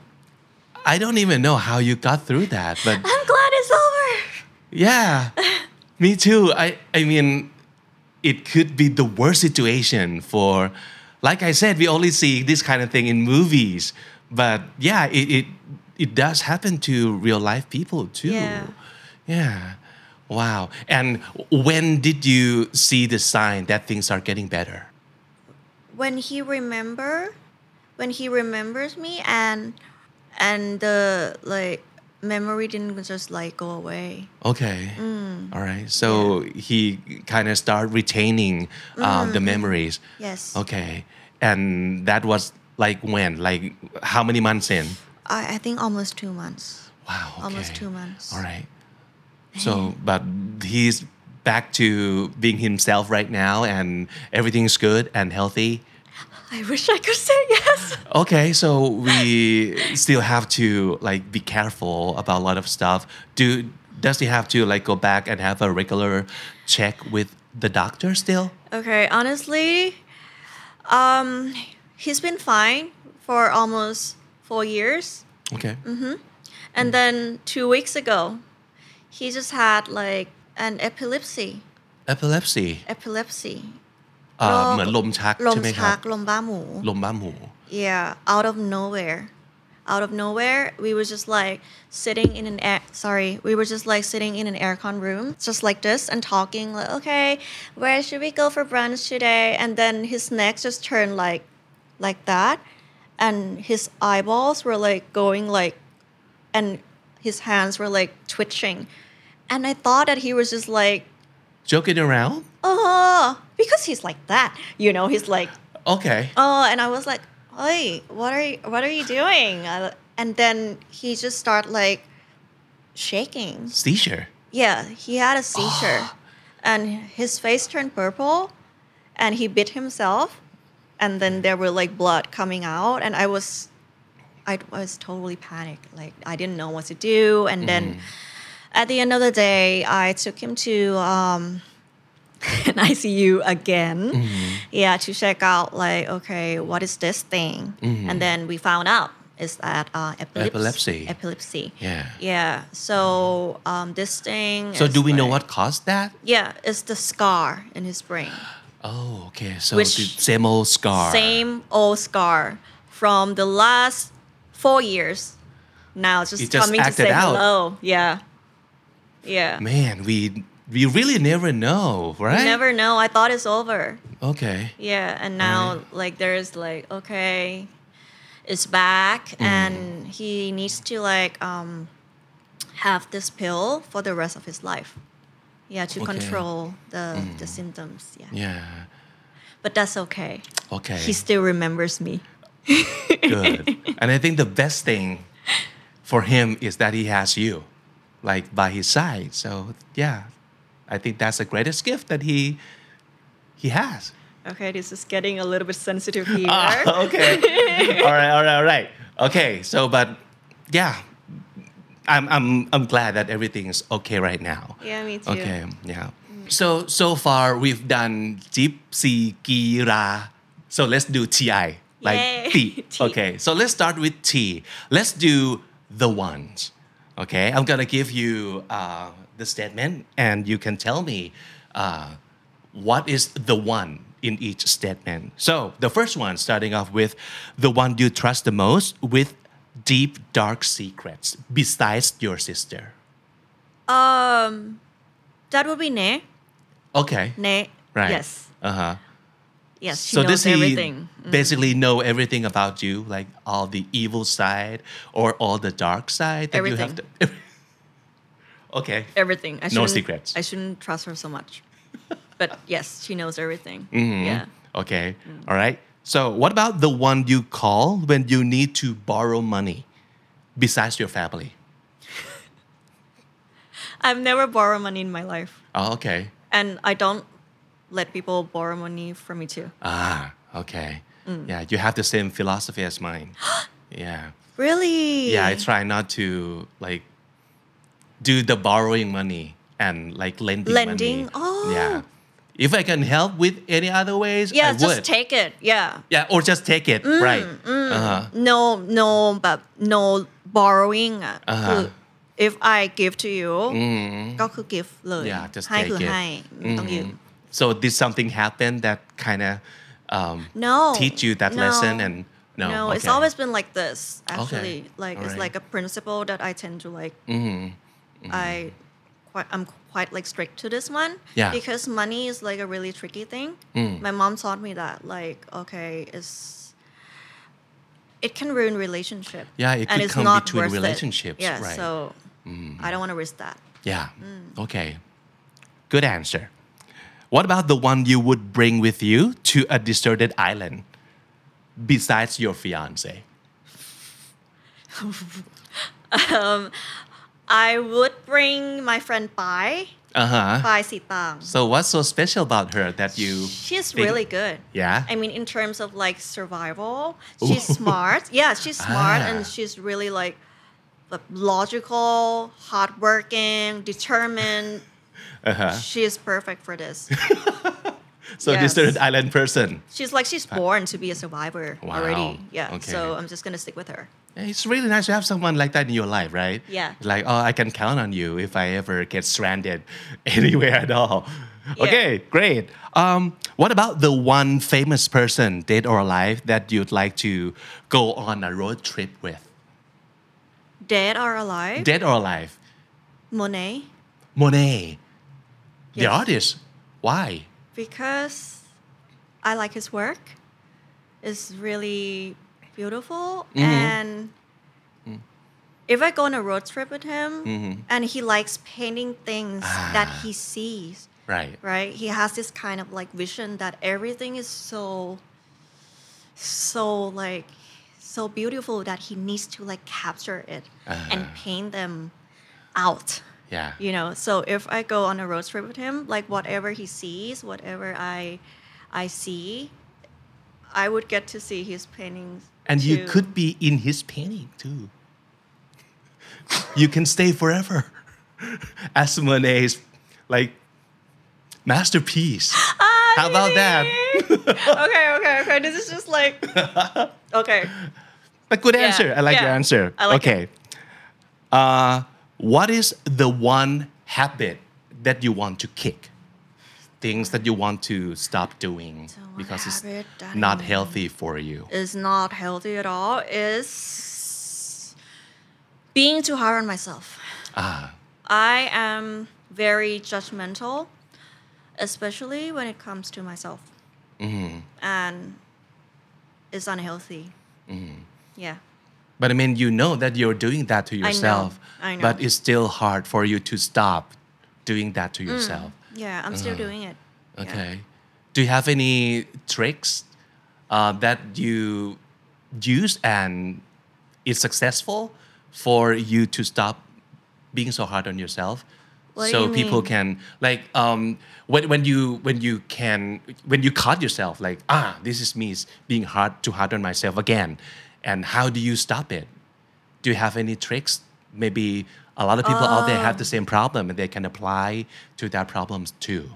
I don't even know how you got through that, but I'm glad it's over. yeah, me too. I mean, it could be the worst situation for, like I said, we only see this kind of thing in movies, but yeah, it does happen to real life people too. Yeah. Wow. And when did you see the sign that things are getting better? When he remembers me and the like memory didn't just like go away. Okay. All right. So he kind of started retaining the memories. Yes. Okay. And that was like when? Like how many months in? I think almost 2 months. Wow. Okay. Almost 2 months. All right. So, but he's back to being himself right now and everything's good and healthy. I wish I could say yes. Okay, so we still have to like be careful about a lot of stuff. Does he have to like go back and have a regular check with the doctor still? Okay, honestly, he's been fine for almost 4 years. Okay. And then 2 weeks ago, he just had like an epilepsy. Epilepsy. เหมือนลมชักลใช่มไหมคชัรักบลมบ้าหมูลมบ้าหมู Yeah, out of nowhere, we were just like sitting in an aircon room, just like this, and talking like, okay, where should we go for brunch today? And then his neck just turned like that, and his eyeballs were like going like, and his hands were like twitching, and I thought that he was just like, joking around? Because he's like that, you know, he's like, Okay. and I was like, hey, what are you doing? And then he just started like shaking. Seizure. Yeah, he had a seizure, and his face turned purple, and he bit himself, and then there were like blood coming out, and I was totally panicked. Like I didn't know what to do, and then at the end of the day, I took him to an ICU again. Yeah, to check out like, okay, what is this thing? And then we found out is that Epilepsy. Epilepsy. Yeah. Yeah. So this thing. So is do we know like- what caused that? Yeah, it's the scar in his brain. Oh, okay. So Which- the same old scar. Same old scar from the last 4 years. Now it's It just just coming to acted say out. hello. Yeah. Yeah. Man, we really never know, right? You never know. I thought it's over. Okay. Yeah, and now like there's like, okay, it's back, and he needs to like have this pill for the rest of his life. Yeah, to Okay. control the symptoms. Yeah. Yeah. But that's okay. Okay. He still remembers me. Good. And I think the best thing for him is that he has you, like by his side. So yeah, I think that's the greatest gift that he has. Okay, this is getting a little bit sensitive here. Okay. All right. Okay. So, but yeah, I'm glad that everything is okay right now. Yeah, me too. Okay. Yeah. So far we've done Gypsy Gira. So let's do TI. Like Yay. T. T. Okay. So let's start with T. Let's do the ones. Okay. I'm gonna give you the statement, and you can tell me what is the one in each statement. So the first one, starting off with the one you trust the most with deep dark secrets besides your sister. That would be Ne. Okay. Ne. Right. Yes. Uh-huh. Yes. She So knows does he everything. basically know everything about you, like all the evil side or all the dark side that you have to? Okay. Everything. I No shouldn't- secrets. I shouldn't trust her so much. But yes, she knows everything. Mm-hmm. Yeah. Okay. All right. So what about the one you call when you need to borrow money besides your family? I've never borrowed money in my life. Oh, okay. And I don't let people borrow money from me too. Ah, okay. Yeah, you have the same philosophy as mine. Yeah. Really? Yeah, I try not to like do the borrowing money and like lending Lending? money. Oh. Yeah. If I can help with any other ways, Yeah, I just would. take it. Yeah. Yeah, or just take it. Right. Uh-huh. No, but no borrowing อ่ะ Uh-huh. คือ if I give to you ก็คือ give เลย Yeah, just ให้ take คือ it. ให้ไม่ต้องยืม So did something happen that kind of No. teach you that no. lesson and no? No, it's okay. always been like this actually. Okay. Like it's Alright. like a principle that I tend to like I'm quite like strict to this one Yeah. because money is like a really tricky thing. My mom taught me that like okay, it can ruin relationship. Yeah, it and could it's come not between worth relationships, It. Yeah, right. so I don't want to risk that. Yeah. Okay. Good answer. What about the one you would bring with you to a deserted island besides your fiance? I would bring my friend Pai, Uh-huh. Pai Sitang. So what's so special about her that you She's think- really good. Yeah? I mean, in terms of like survival, she's smart. Yeah, she's smart Ah. and she's really like logical, hardworking, determined. Uh-huh. She is perfect for this. So Yes. deserted island person. She's born to be a survivor Wow. already. Yeah. Okay. So I'm just gonna stick with her. It's really nice to have someone like that in your life, right? Yeah. Like, oh, I can count on you if I ever get stranded anywhere at all. Yeah. Okay, great. What about the one famous person, dead or alive, that you'd like to go on a road trip with? Dead or alive? Dead or alive? Monet. Monet, the Yes. artist. Why? Because I like his work. It's really beautiful. And if I go on a road trip with him and he likes painting things that he sees, Right. right? He has this kind of like vision that everything is so beautiful that he needs to like capture it and paint them out. Yeah. You know, so if I go on a road trip with him, like whatever he sees, whatever I see, I would get to see his paintings. And you too. could be in his painting too. You can stay forever. As Monet's like masterpiece. How about that? okay. This is just like okay. A good Yeah, answer. I like yeah. your answer. I like okay. What is the one habit that you want to kick? Things that you want to stop doing So one because it's habit that not I- healthy for you. Is not healthy at all. Is being too hard on myself. I am very judgmental, especially when it comes to myself. And it's unhealthy. Yeah. But I mean, you know that you're doing that to yourself. I know. But it's still hard for you to stop doing that to yourself. Yeah, I'm still doing it. Yeah. Okay. Do you have any tricks that you use and it's successful for you to stop being so hard on yourself? What do So you people mean? can like when you caught yourself like this is me being too hard on myself again, and how do you stop it? Do you have any tricks? Maybe a lot of people out there have the same problem and they can apply to their problems too.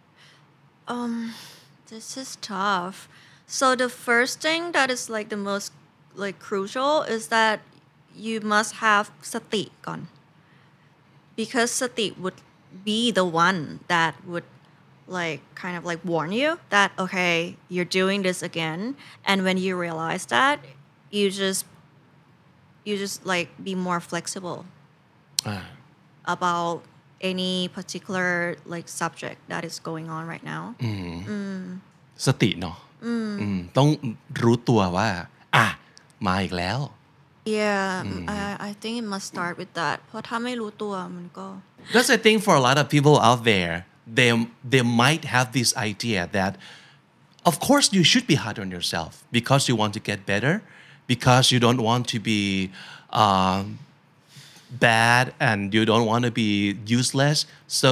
This is tough. So the first thing that is like the most like crucial is that you must have sati ก่อน because sati would be the one that would like kind of like warn you that okay, you're doing this again, and when you realize that, you just like be more flexible about any particular like subject that is going on right now. สติเนาะต้องรู้ตัวว่ามาอีกแล้ว Yeah, I think it must start with that. เพราะถ้าไม่รู้ตัวมันก็ That's the thing for a lot of people out there. They might have this idea that, of course, you should be hard on yourself because you want to get better, because you don't want to be bad and you don't want to be useless. So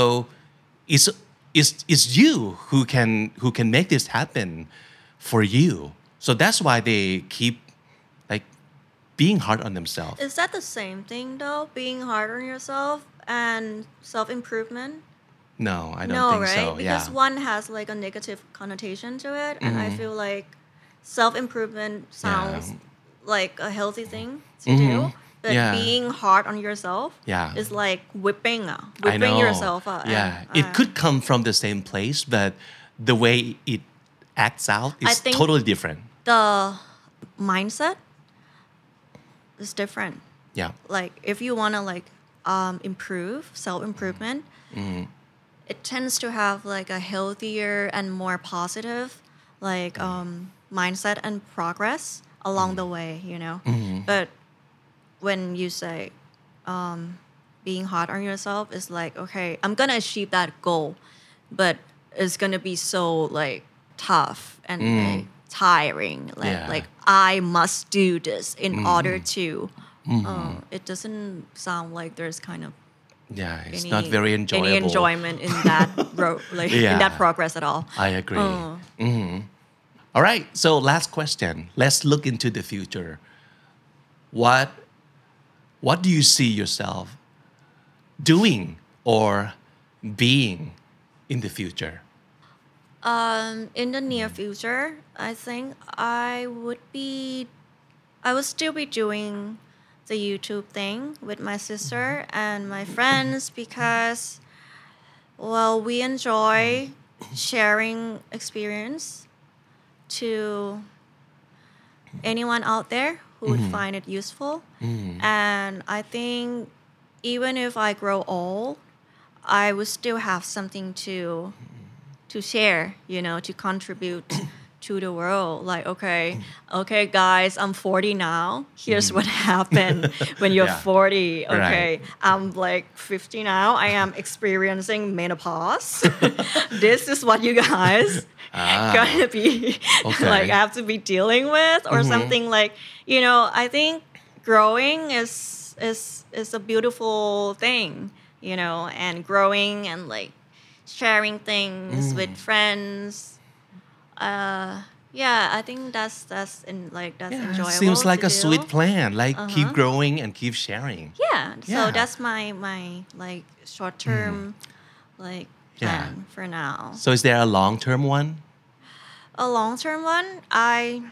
it's you who can make this happen for you. So that's why they keep like being hard on themselves. Is that the same thing though? Being hard on yourself and self-improvement? No, I don't No, think right? so. Because Yeah. one has like a negative connotation to it, and I feel like self-improvement sounds like a healthy thing to do. But Yeah. being hard on yourself Yeah. is like whipping I know. yourself up. Yeah, it could come from the same place, but the way it acts out I is think- totally different. The mindset is different. Yeah. Like if you want to like improve self-improvement, it tends to have like a healthier and more positive like mindset and progress along the way, you know. But when you say being hard on yourself is like, okay, I'm gonna achieve that goal, but it's gonna be so like tough and like tiring, like I must do this in order to it doesn't sound like there's kind of Yeah, it's not very enjoyable. any enjoyment in that in that Yeah. progress at all. I agree. All right, so last question. Let's look into the future. What do you see yourself doing or being in the future? In the near future, I think I would still be doing the YouTube thing with my sister and my friends because, well, we enjoy sharing experience to anyone out there who would find it useful. And I think even if I grow old, I would still have something to share, you know, to contribute to the world. Like, okay, guys, I'm 40 now. Here's what happened when you're Yeah. 40. Okay, Right. I'm like 50 now. I am experiencing menopause. This is what you guys gonna be Okay. like have to be dealing with or something like, you know, I think growing is a beautiful thing, you know, and growing and like sharing things with friends. Yeah, I think that's enjoyable. Seems like to a do. sweet plan. Like keep growing and keep sharing. Yeah, so Yeah. that's my like short term like Yeah. plan for now. So is there a long-term one? A long term one, I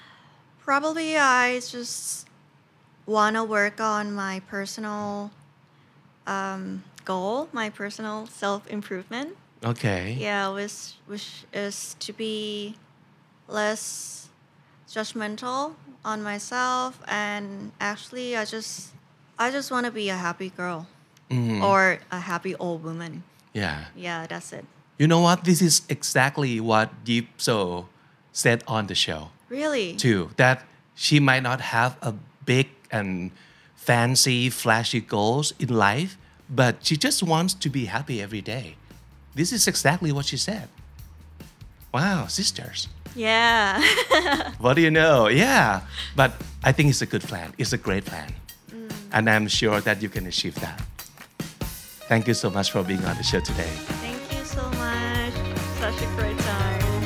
just wanna work on my personal goal, my personal self improvement. Okay. Yeah, which is to be less judgmental on myself, and actually I just want to be a happy girl or a happy old woman. Yeah. Yeah, that's it. You know what? This is exactly what Deep So said on the show Really? too. That she might not have a big and fancy, flashy goals in life, but she just wants to be happy every day. This is exactly what she said. Wow, sisters. Yeah. What do you know? Yeah. But I think it's a good plan. It's a great plan. And I'm sure that you can achieve that. Thank you so much for being on the show today. Thank you so much. Such a great time.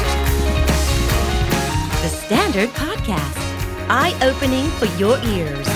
The Standard Podcast, eye-opening for your ears.